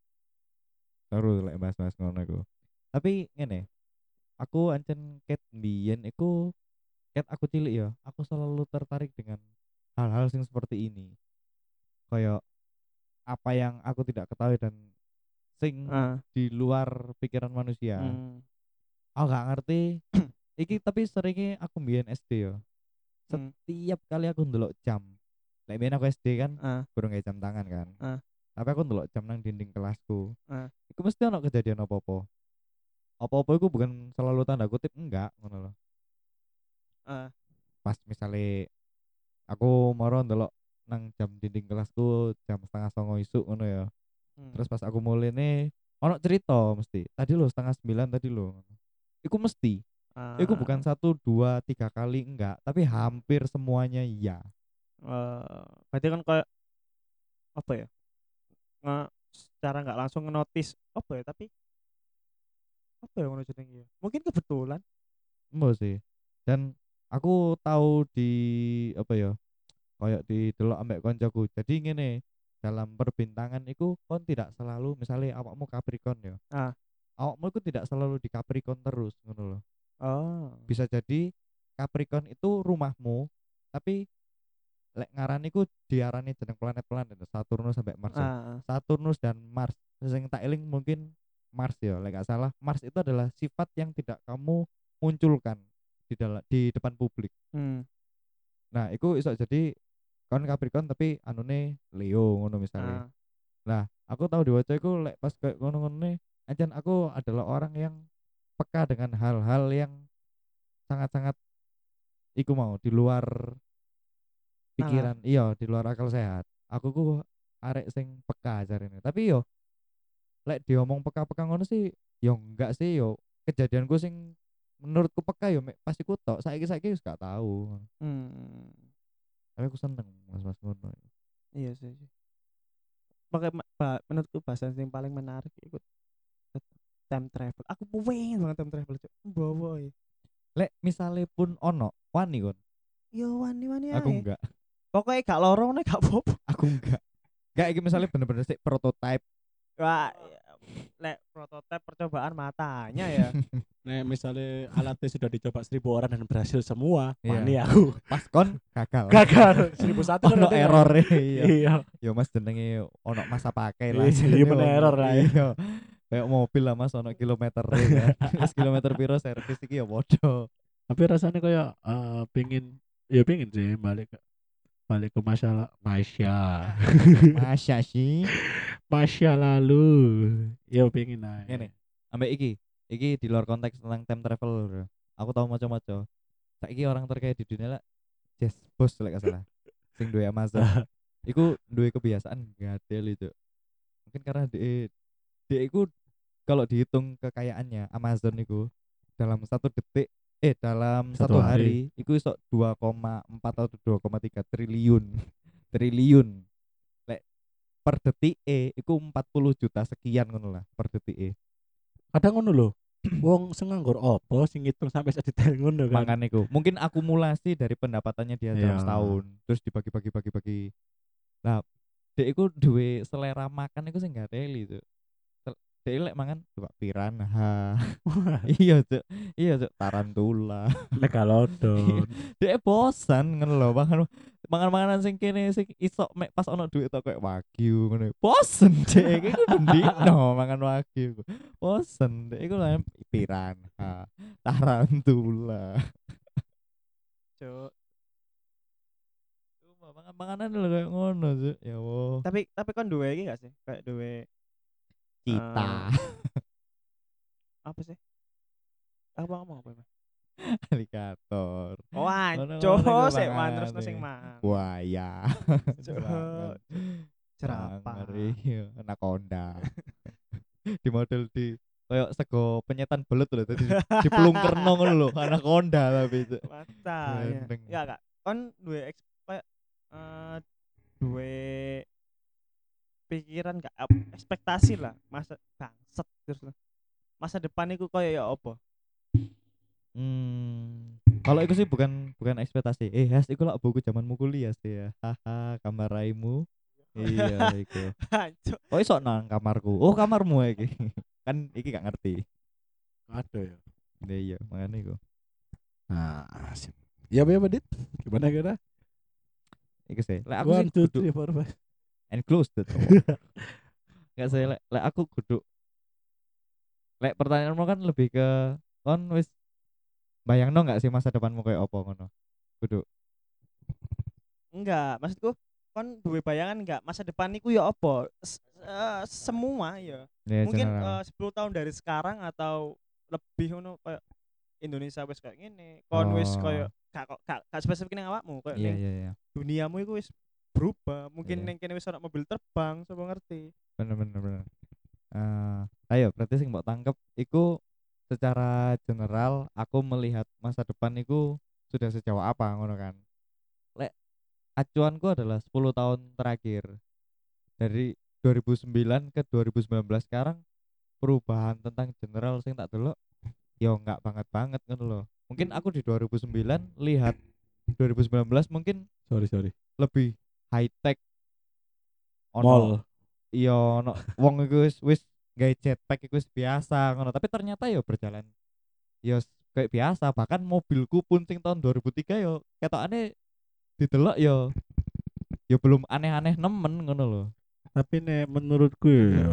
Speaker 1: Seru lek bahas-bahas ngono iku. Tapi ngene, aku ancen ket mbiyen iku ket aku cilik ya, aku selalu tertarik dengan hal-hal sing seperti ini. Kayak apa yang aku tidak ketahui dan sing
Speaker 3: Ah.
Speaker 1: di luar pikiran manusia.
Speaker 3: Hmm.
Speaker 1: Aku gak ngerti. Iki tapi seringnya aku mbiyen S D ya.
Speaker 3: Hmm.
Speaker 1: Setiap kali aku ndelok jam. Lek mbiyen aku S D kan
Speaker 3: Ah.
Speaker 1: kurang kayak jam tangan kan.
Speaker 3: Ah.
Speaker 1: Tapi aku ndelok jam nang dinding kelasku.
Speaker 3: Ah.
Speaker 1: Iku mesti ono kejadian apa-apa. Apa-apa iku bukan selalu tanda kutip enggak ngono loh.
Speaker 3: Ah.
Speaker 1: Pas misalnya aku moro ndelok nang jam dinding kelasku jam setengah songo isuk ngono ya.
Speaker 3: Hmm.
Speaker 1: Terus pas aku mulai nih ono cerita mesti tadi lo setengah sembilan tadi lo iku mesti iku
Speaker 3: Ah.
Speaker 1: bukan satu dua tiga kali enggak tapi hampir semuanya iya.
Speaker 3: Eh, berarti kan kayak apa ya? Nge, secara nggak langsung ngenotis apa ya tapi apa ya ngono jenenge ya? Mungkin kebetulan.
Speaker 1: Mbok sih dan aku tahu di apa ya kayak di delok ambek koncoku jadi ngene dalam perbintangan itu kon tidak selalu misalnya awakmu Capricorn ya
Speaker 3: Ah.
Speaker 1: awakmu itu tidak selalu di Capricorn terus ngono loh.
Speaker 3: Oh.
Speaker 1: Bisa jadi Capricorn itu rumahmu tapi lek ngarani ku diarani jeneng planet-planet Saturnus sampai Mars ya.
Speaker 3: Ah.
Speaker 1: Saturnus dan Mars sing tak eling mungkin Mars ya lek gak salah Mars itu adalah sifat yang tidak kamu munculkan di dalam di depan publik.
Speaker 3: Hmm.
Speaker 1: Nah itu iso jadi kon Capricorn tapi anune Leo ngono misalnya.
Speaker 3: Ah.
Speaker 1: Nah aku tahu di wajah iku lek pas kayak ngono-ngono ancen aku adalah orang yang peka dengan hal-hal yang sangat-sangat iku mau di luar pikiran iya di luar akal sehat aku ku arek sing peka jarene tapi yo lek diomong peka-peka ngono sih yo enggak sih yo kejadianku sing menurutku peka yo mek pas iku tok saiki-saiki wis gak tahu
Speaker 3: Hmm.
Speaker 1: tapi aku seneng mas-mas ngono.
Speaker 3: Iya sih. Pakai ba, menurutku bahasan yang paling menarik ikut time travel. Aku pengen banget time travel, Cuk. Bawa ya.
Speaker 1: Lek misale pun ono wani kon
Speaker 3: Yo wani-wani
Speaker 1: aku
Speaker 3: ae.
Speaker 1: enggak
Speaker 3: Pokoknya gak lorong nih gak apa-apa.
Speaker 1: aku enggak enggak iki misalnya bener-bener sik prototype
Speaker 3: Wah, ya, lek prototipe percobaan matanya ya.
Speaker 2: Nek nek misalnya alatnya sudah dicoba seribu orang dan berhasil semua,
Speaker 1: Iya.
Speaker 2: wani aku.
Speaker 1: Pas kon gagal.
Speaker 2: Gagal seribu satu
Speaker 1: Ono error iya.
Speaker 2: Iya.
Speaker 1: Ya Mas jenenge ono masa pakai lah.
Speaker 2: Iya,
Speaker 1: jenenge
Speaker 2: men
Speaker 1: wong.
Speaker 2: error lah ya.
Speaker 1: Iya. Kayak mobil lah Mas ono kilometer kan. Wis kilometer piro servis iki ya padha.
Speaker 2: Tapi rasanya kayak eh, pingin ya pingin sih balik ke balik ke masalah Masya.
Speaker 1: Masya sih.
Speaker 2: Masya lalu. Ya pingin lah.
Speaker 1: Ngene. Ambek iki. Iki di luar konteks tentang time travel. Bro. Aku tahu macam-macam. Saiki orang terkaya di dunia lah Jeff Bezos lek gak salah. Sing duwe Amazon. Iku duwe kebiasaan gadel itu. Mungkin karena dia dia iku kalau dihitung kekayaannya Amazon itu dalam satu detik eh dalam
Speaker 2: Satu
Speaker 1: satu,
Speaker 2: hari.
Speaker 1: hari, iku iso dua koma empat atau dua koma tiga triliun triliun lek per detik eh iku empat puluh juta sekian ngono lah per detik eh
Speaker 2: Kadang ngono lho. Wong sing nganggur opo sing ngitung sampai sedetail ngono kan.
Speaker 1: mangan iku mungkin akumulasi dari pendapatannya dia dalam
Speaker 2: Iya.
Speaker 1: setahun terus dibagi bagi bagi bagi lah dia iku duwe selera makan iku sing gak teli itu dia lek mangan coba piranha iya cuk iya cuk tarantula
Speaker 2: Megalodon.
Speaker 1: dia bosan ngono lho mangan mangan makanan sing kene sing iso mek pas ono duit tok kayak wagyu ngono bosen dek iku bendino mangan wagyu bosen dek iku lho piranha tarantula
Speaker 3: Cuk.
Speaker 1: cuma mangan makanan lho kayak ngono cuk ya Allah
Speaker 3: Tapi tapi kon duwe iki gak sih? Kayak duwe
Speaker 1: cita
Speaker 3: apa sih? Apa ngomong apa? Mas?
Speaker 1: alligator
Speaker 3: Oh,
Speaker 1: Ngono-ngono
Speaker 3: anco
Speaker 1: iku
Speaker 3: sik man
Speaker 1: mangane.
Speaker 3: terus sing man.
Speaker 1: buaya
Speaker 3: Cuk.
Speaker 1: Mangan.
Speaker 3: Jerapah.
Speaker 1: Ngeri, iya, anaconda. Di model di kayak sego penyetan belut lho tadi dipelungkerno ngono lho anaconda tapi itu
Speaker 3: Mata ya.
Speaker 1: Gendeng.
Speaker 3: Ya kak, kon duwe eks kayak eh duwe pikiran gak ap- ekspektasi lah masa bangset terus masa depan iku koyo ya apa?
Speaker 1: hmm kalau itu sih bukan bukan ekspektasi eh has iku lak buku zamanmu kuliah sih ya haha kamar raimu iya iku
Speaker 3: Anco.
Speaker 1: oh iso nang kamarku oh kamarmu iki kan iki gak ngerti
Speaker 2: Ada ya.
Speaker 1: iya makanya iku
Speaker 2: Nah, sip. Ya apa ya Dit? Gimana kira?
Speaker 1: iku sih lek aku sih
Speaker 2: One, two,
Speaker 1: kudu
Speaker 2: three, four, five.
Speaker 1: enclosed nggak sih lek lek aku kudu lek pertanyaanmu kan lebih ke kon wis bayangno nggak sih masa depanmu kayak apa ngono kudu
Speaker 3: Enggak, maksudku kon duwe bayangan enggak masa depan iku ya apa? S- eh, semua ya.
Speaker 1: ya
Speaker 3: Mungkin
Speaker 1: general.
Speaker 3: eh, sepuluh tahun dari sekarang atau lebih ngono kayak Indonesia wis kayak gini, kon wis
Speaker 1: Oh.
Speaker 3: kayak gak kok gak, gak spesifik ning awakmu, kayak
Speaker 1: iya
Speaker 3: ning
Speaker 1: iya iya
Speaker 3: duniamu iku wis berubah. Mungkin
Speaker 1: Iya.
Speaker 3: ning kene wis ana mobil terbang, sapa ngerti.
Speaker 1: bener bener bener Eh, ayo berarti sing mbok tangkep iku secara general aku melihat masa depan iku sudah sejauh apa ngono kan lek acuanku adalah sepuluh tahun terakhir dari dua ribu sembilan ke dua ribu sembilan belas sekarang perubahan tentang general sing tak delok yo enggak banget banget ngono loh mungkin aku di dua ribu sembilan lihat dua ribu sembilan belas mungkin
Speaker 2: Sorry, sorry.
Speaker 1: lebih high tech
Speaker 2: Mall.
Speaker 1: iya ono wong iku wis wis gawe jetpack iku wis biasa ngono tapi ternyata yo berjalan yo s- kayak biasa bahkan mobilku pun sing tahun dua ribu tiga yo ketokane didelok yo yo belum aneh-aneh nemen ngono loh
Speaker 2: Tapi nek menurutku ya.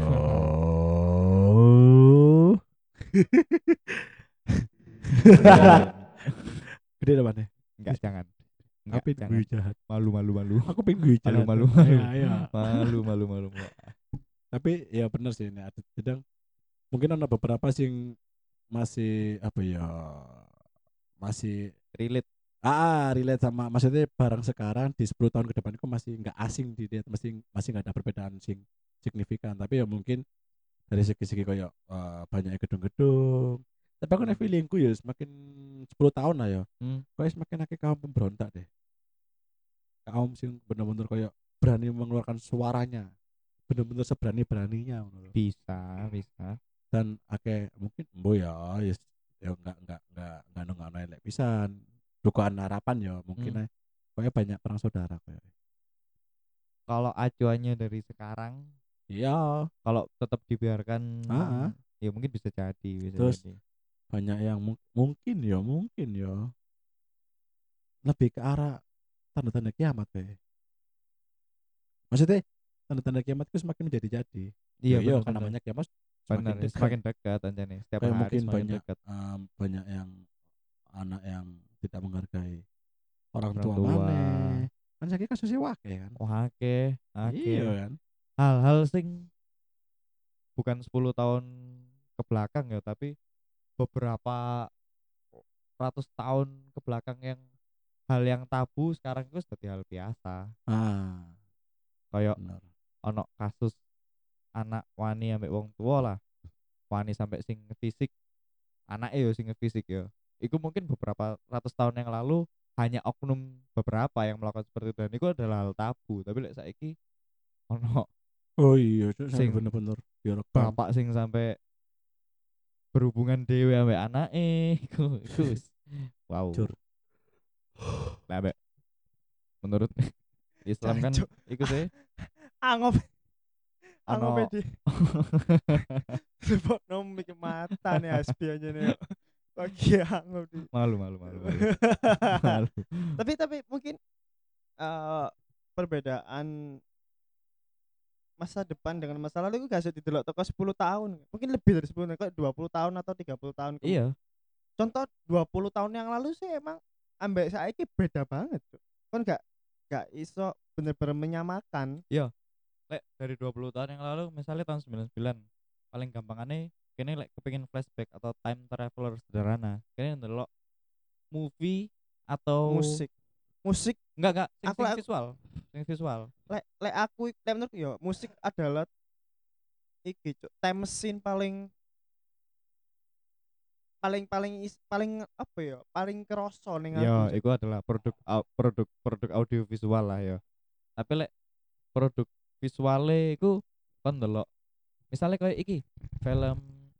Speaker 2: Gede apa nih?
Speaker 1: enggak jangan enggak
Speaker 2: Tapi
Speaker 1: jangan
Speaker 2: gue jahat.
Speaker 1: malu malu malu
Speaker 2: Aku pengen gue
Speaker 1: malu
Speaker 2: jahat.
Speaker 1: malu
Speaker 2: Ayo,
Speaker 1: malu
Speaker 2: ayo.
Speaker 1: malu malu malu malu
Speaker 2: Tapi ya bener sih ini ada sedang mungkin ada beberapa sing masih apa ya masih
Speaker 1: relate
Speaker 2: ah relate sama maksudnya barang sekarang di sepuluh tahun ke depan itu masih nggak asing di dia masih masih nggak ada perbedaan sing signifikan tapi ya mungkin dari segi-segi kayak eh, banyaknya gedung-gedung tapi aku nih feelingku ya semakin sepuluh tahun lah ya
Speaker 1: hmm.
Speaker 2: kayak semakin akeh kaum pemberontak deh kaum sing bener-bener kayak berani mengeluarkan suaranya bener-bener seberani beraninya
Speaker 1: bisa bisa
Speaker 2: dan akeh mungkin embo ya yes, ya enggak enggak enggak enggak enggak enggak elek pisan dugaan harapan ya mungkin
Speaker 1: Hmm.
Speaker 2: hmm. kayak banyak perang saudara kayak
Speaker 1: kalau acuannya dari sekarang
Speaker 2: iya
Speaker 1: kalau tetap dibiarkan
Speaker 2: Ah, ah.
Speaker 1: ya mungkin bisa jadi bisa
Speaker 2: Terus,
Speaker 1: jadi
Speaker 2: banyak yang mung- mungkin ya mungkin ya lebih ke arah tanda-tanda kiamat kayak. Maksudnya tanda-tanda kiamat itu semakin menjadi-jadi.
Speaker 1: Iya
Speaker 2: Ya iya kan
Speaker 1: bener-bener.
Speaker 2: namanya kiamat
Speaker 1: Bener,
Speaker 2: semakin
Speaker 1: ya,
Speaker 2: dekat.
Speaker 1: semakin dekat aja nih. Setiap
Speaker 2: Kayak
Speaker 1: hari
Speaker 2: mungkin
Speaker 1: semakin
Speaker 2: banyak
Speaker 1: dekat.
Speaker 2: em, banyak yang anak yang tidak menghargai orang
Speaker 1: Orang
Speaker 2: tua
Speaker 1: tua.
Speaker 2: maneh. Kan saiki kasusnya wake kan.
Speaker 1: Wah, akeh,
Speaker 2: Iya
Speaker 1: akeh.
Speaker 2: kan.
Speaker 1: Hal-hal sing bukan sepuluh tahun ke belakang ya, tapi beberapa ratus tahun ke belakang yang hal yang tabu sekarang itu seperti hal biasa.
Speaker 2: Ah,
Speaker 1: Kayak
Speaker 2: benar.
Speaker 1: ono kasus anak wani ambek wong tua lah. Wani sampai sing fisik, anaknya yo sing fisik yo. Iku mungkin beberapa ratus tahun yang lalu hanya oknum beberapa yang melakukan seperti itu dan itu adalah hal tabu. Tapi lek saiki ono
Speaker 2: Oh iya, Cuk, sampai
Speaker 1: sing
Speaker 2: bener-bener direkam.
Speaker 1: bapak sing sampai berhubungan dewe ambek anake iku iku wis wow.
Speaker 2: Jur.
Speaker 1: Lah ambek menurut Islam kan
Speaker 3: Jancuk.
Speaker 1: iku sih
Speaker 3: Angop angop
Speaker 1: ono
Speaker 3: di sebab nomik mata nih aspi aja nih. Lagi angop di.
Speaker 1: malu malu malu malu malu.
Speaker 3: tapi tapi mungkin eh perbedaan masa depan dengan masa lalu itu gak usah didelok toko sepuluh tahun. Mungkin lebih dari sepuluh tahun, kayak dua puluh tahun atau tiga puluh tahun. ke-
Speaker 1: Iya,
Speaker 3: Contoh dua puluh tahun yang lalu sih emang ambek saiki beda banget, Cuk. Kan gak gak iso bener-bener menyamakan.
Speaker 1: lek dari dua puluh tahun yang lalu misalnya tahun sembilan puluh sembilan paling gampangannya kene lek kepengin flashback atau time traveler sederhana kene ndelok movie atau
Speaker 3: Musik. Musik
Speaker 1: enggak enggak sing
Speaker 3: aku
Speaker 1: sing
Speaker 3: lek
Speaker 1: visual sing visual
Speaker 3: lek lek aku lek menurutku ya musik adalah iki, Cuk. Time machine paling paling paling is- paling apa ya? Paling kerasa ning aku,
Speaker 1: ya
Speaker 3: Cuk.
Speaker 1: itu adalah produk au- produk produk audio visual lah ya tapi lek produk visualnya itu kan ndelok misalnya kayak iki film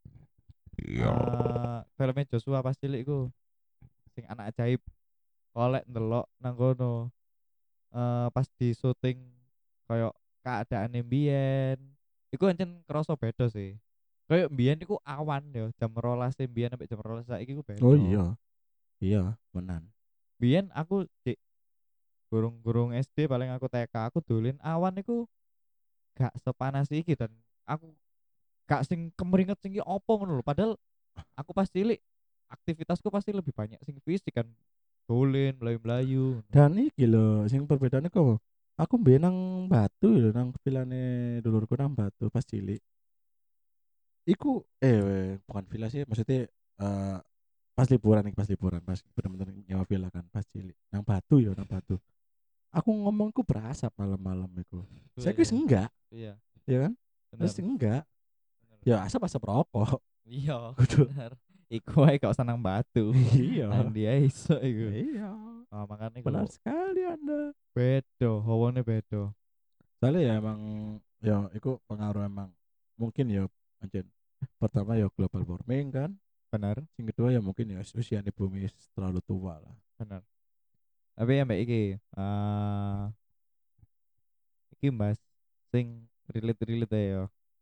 Speaker 1: eh filmnya Joshua pas cilik iku sing anak ajaib kolek ndelok nang kono eh pas di syuting kayak keadaan mbiyen iku ancen kerasa beda sih kayak mbiyen iku awan yo jam rolas mbiyen sampai jam rolas saiki iku
Speaker 2: Oh
Speaker 1: beda
Speaker 2: iya. Iya, menan.
Speaker 1: mbiyen aku cek gurung-gurung S D paling aku T K aku dolin awan iku gak sepanas iki dan aku gak sing kemeringet sing ki opo ngono lho padahal aku pas cilik aktivitasku pasti lebih banyak sing fisik kan dolin melayu-melayu
Speaker 2: Dan iki lho sing perbedaannya kok apa? Aku mbiyen nang Batu lho nang vilane dulurku nang Batu pas cilik. Iku eh weh, bukan villa sih maksudnya eh pas liburan nih pas liburan pas bener-bener nyewa villa kan pas cilik nang Batu ya nang Batu. Aku ngomongku berasap malam-malam iku. Saya
Speaker 1: iya
Speaker 2: wis enggak,
Speaker 1: iya
Speaker 2: ya kan?
Speaker 1: bener
Speaker 2: Terus enggak.
Speaker 1: bener
Speaker 2: Ya asap-asap rokok.
Speaker 1: iya
Speaker 2: Kudu.
Speaker 1: bener iku ae gak usah nang batu
Speaker 2: Iya.
Speaker 1: nang dia iso iku
Speaker 2: Iya.
Speaker 1: oh, makanya iku
Speaker 2: Benar sekali Anda.
Speaker 1: bedo hawane bedo
Speaker 2: Soalnya ya emang ya itu pengaruh emang mungkin ya anjen pertama ya global warming kan,
Speaker 1: bener
Speaker 2: yang kedua ya mungkin ya usia bumi terlalu tua lah.
Speaker 1: bener tapi ya mbak iki eh iki mas sing relate relate ya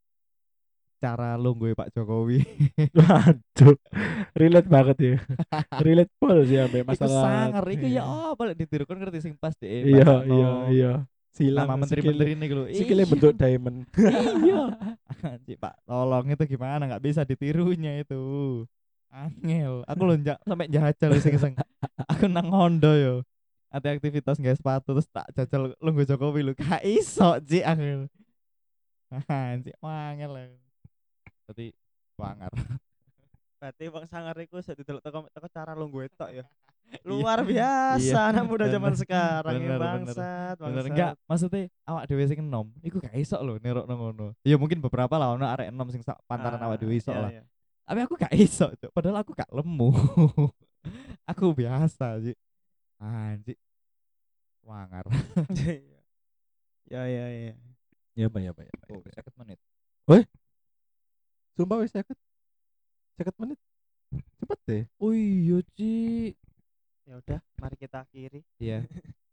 Speaker 1: cara lungguhe Pak Jokowi
Speaker 2: Waduh, relate banget ya, relate full sih sampai
Speaker 1: iku
Speaker 2: masalah.
Speaker 1: sangar iku ya
Speaker 2: Iya,
Speaker 1: apa lek ditirukan ngerti sing pas deh
Speaker 2: iya,
Speaker 1: baca
Speaker 2: iya,
Speaker 1: no
Speaker 2: iya. Silang
Speaker 1: nama
Speaker 2: sikile,
Speaker 1: menteri-menteri ini gitu
Speaker 2: sikile
Speaker 1: iya
Speaker 2: bentuk diamond.
Speaker 1: iya Anjir, Pak tolong itu gimana nggak bisa ditirunya itu angel aku lonjak sampai jajal iseng-iseng aku nang Hondo yo ada aktivitas nggak sepatu terus tak jajal lungguh Jokowi lu gak iso Ci angel anjir angel lah berarti wangar
Speaker 3: Berarti Bang Sangar iku bisa didelok teko teko cara lungguh tok ya.
Speaker 1: iya
Speaker 3: Luar
Speaker 1: iya
Speaker 3: biasa anak muda zaman
Speaker 1: bener
Speaker 3: sekarang ya
Speaker 1: bener bener
Speaker 3: bangsat,
Speaker 1: bener enggak
Speaker 3: bangsat.
Speaker 1: maksudnya awak dewe sing enom iku gak iso lho nerok nang ngono ya mungkin beberapa lah ono arek enom sing sak pantaran awak
Speaker 3: Ah,
Speaker 1: dewe iso
Speaker 3: iya
Speaker 1: lah
Speaker 3: iya.
Speaker 1: tapi aku gak iso Cuk. Padahal aku gak lemu aku biasa sih anjir wangar
Speaker 3: Ya ya ya.
Speaker 2: Ya apa ya apa ya. Apa,
Speaker 1: oh
Speaker 2: ya, apa, ya.
Speaker 1: sakit menit
Speaker 2: Sumpah wis seket, seket menit. Cepet deh.
Speaker 1: oh iya Ci
Speaker 3: Ya udah, mari kita akhiri.
Speaker 1: iya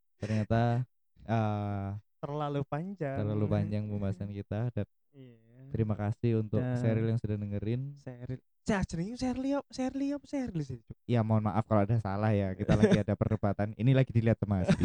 Speaker 1: ternyata eh
Speaker 3: Terlalu panjang.
Speaker 1: terlalu panjang pembahasan kita dan
Speaker 3: Iya.
Speaker 1: Terima kasih untuk
Speaker 3: Dan-
Speaker 1: Sheryl yang sudah dengerin.
Speaker 3: Seril. Cah jenenge Serli apa Serli apa Serli sih? Cuk?
Speaker 1: Ya mohon maaf kalau ada salah ya. Kita lagi ada perdebatan. Ini lagi dilihat sama Hasbi.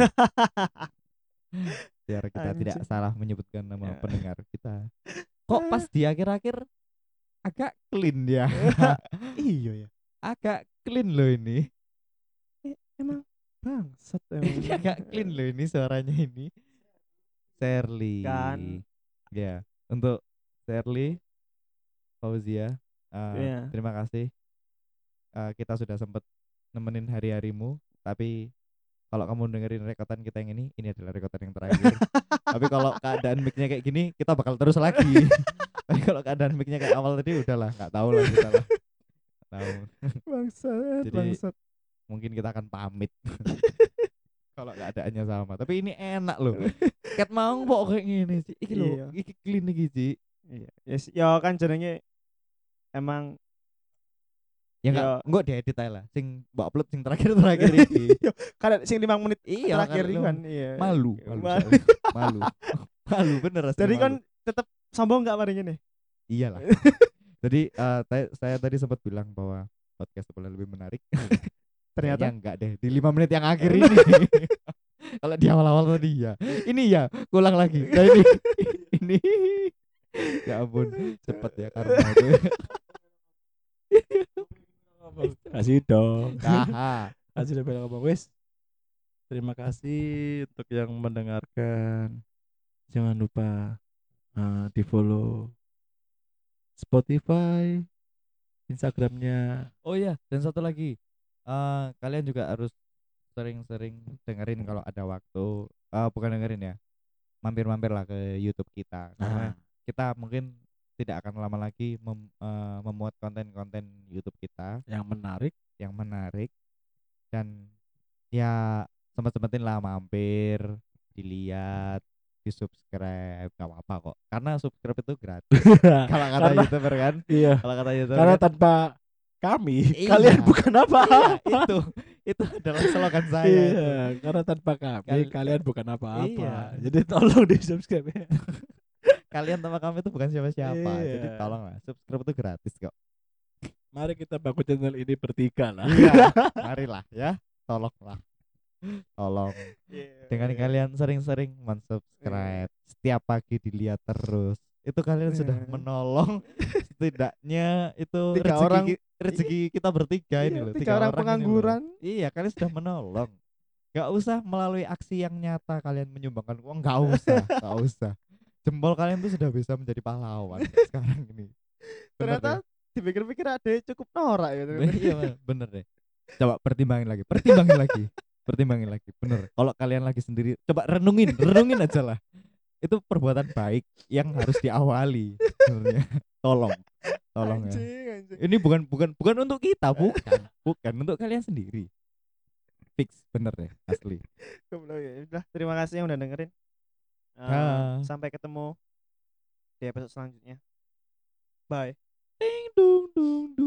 Speaker 1: Biar kita tidak
Speaker 3: Anjing.
Speaker 1: salah menyebutkan nama
Speaker 3: Ya.
Speaker 1: pendengar kita. Kok pas di akhir-akhir agak clean ya.
Speaker 3: Iya ya.
Speaker 1: Agak clean loh ini.
Speaker 3: Emang bangsat
Speaker 1: Ini
Speaker 3: emang.
Speaker 1: agak clean loh ini suaranya ini. Shirley.
Speaker 3: Kan.
Speaker 1: Ya, untuk Shirley Fauzia, eh,
Speaker 3: Iya.
Speaker 1: terima kasih. Eh, kita sudah sempat nemenin hari-harimu, tapi kalau kamu dengerin rekotan kita yang ini, ini adalah rekotan yang terakhir. Tapi kalau keadaan mic-nya kayak gini, kita bakal terus lagi. Tapi kalau keadaan mic-nya kayak awal tadi udahlah, nggak tahu lah kita lah. Nggak tahu.
Speaker 3: Bangsat,
Speaker 1: Jadi,
Speaker 3: bangsat.
Speaker 1: Mungkin kita akan pamit. Kalau keadaannya sama. Tapi ini enak loh. Ket mau kok kayak gini sih. Iki lho,
Speaker 3: Iya.
Speaker 1: iki clean iki, Ci.
Speaker 3: Iya. Yes, ya kan jenenge emang
Speaker 1: Ya enggak,
Speaker 3: Ya.
Speaker 1: enggak diedit aja lah. Sing mbok upload sing terakhir-terakhir iki.
Speaker 3: kan sing lima menit
Speaker 1: Iya,
Speaker 3: terakhir
Speaker 1: kan
Speaker 3: itu
Speaker 1: lu
Speaker 3: kan. Iya.
Speaker 1: malu, malu,
Speaker 3: Ma-
Speaker 1: soalnya. malu. Malu bener asli
Speaker 3: Jadi
Speaker 1: malu.
Speaker 3: kan tetap sombong enggak marinya nih?
Speaker 1: Iyalah. Jadi eh, ta- saya tadi sempat bilang bahwa podcast boleh lebih menarik.
Speaker 3: Ternyata
Speaker 1: Kayaknya enggak deh di lima menit yang akhir ini. Kalau di awal-awal tadi ya. Ini ya, ulang lagi. Nah ini ini ya ampun, cepet ya karma itu.
Speaker 2: Kasih dong.
Speaker 1: Haha.
Speaker 2: Kasih level ngomong wis. Terima kasih untuk yang mendengarkan. Jangan lupa uh, di follow Spotify, Instagramnya.
Speaker 1: Oh iya, dan satu lagi. Eh kalian juga harus sering-sering dengerin kalau ada waktu. Eh bukan dengerin ya. Mampir-mampir lah ke YouTube kita. Karena
Speaker 2: Nah,
Speaker 1: kita mungkin tidak akan lama lagi mem- eh, memuat konten-konten YouTube kita
Speaker 2: yang menarik.
Speaker 1: yang menarik, dan ya sempat-sempatin lah mampir, dilihat, di subscribe, gak apa-apa kok, karena subscribe itu gratis. Kalau kata
Speaker 2: Karena-
Speaker 1: YouTuber kan,
Speaker 2: Iya.
Speaker 1: kalau kata YouTuber
Speaker 2: Karena
Speaker 1: kan,
Speaker 2: tanpa kami,
Speaker 1: Iya.
Speaker 2: kalian bukan
Speaker 1: iya,
Speaker 2: apa-apa.
Speaker 1: itu itu adalah slogan saya itu.
Speaker 2: Iya, karena tanpa kami,
Speaker 1: Kal-
Speaker 2: kalian bukan apa-apa.
Speaker 1: Iya.
Speaker 2: Jadi tolong di subscribe ya.
Speaker 1: Kalian sama kami itu bukan siapa-siapa, jadi
Speaker 2: Iya.
Speaker 1: tolonglah, subscribe itu gratis kok.
Speaker 2: Mari kita bangun channel ini bertiga lah.
Speaker 1: Iya, marilah ya, tolonglah, tolong.
Speaker 3: Iya.
Speaker 1: Dengan kalian sering-sering mensubscribe, setiap pagi dilihat terus, itu kalian sudah
Speaker 3: Iya.
Speaker 1: menolong setidaknya itu
Speaker 3: Tiga
Speaker 1: rezeki,
Speaker 3: orang-
Speaker 1: ki- rezeki kita bertiga ini
Speaker 3: Iya,
Speaker 1: loh,
Speaker 3: tiga orang
Speaker 1: ini loh.
Speaker 3: pengangguran.
Speaker 1: Iya, kalian sudah menolong. Gak usah melalui aksi yang nyata kalian menyumbangkan uang, gak usah, gak usah. Jempol kalian tuh sudah bisa menjadi pahlawan sekarang ini. Bener
Speaker 3: Ternyata
Speaker 1: deh.
Speaker 3: dipikir-pikir ada cukup norak ya. ternyata.
Speaker 1: Iya bener, bener deh. Coba pertimbangin lagi, pertimbangin lagi, pertimbangin lagi. Bener. Kalau kalian lagi sendiri, coba renungin, renungin aja lah. Itu perbuatan baik yang harus diawali. Sebenarnya. Tolong, tolong ya.
Speaker 3: Anjing, anjing.
Speaker 1: Ini bukan bukan bukan untuk kita, bukan, bukan untuk kalian sendiri. Fix, bener deh, asli.
Speaker 3: Goblok ya. Udah, terima kasih yang udah dengerin. Eh,
Speaker 1: Dah.
Speaker 3: sampai ketemu di episode selanjutnya. Bye.
Speaker 1: Ding dung dung dung.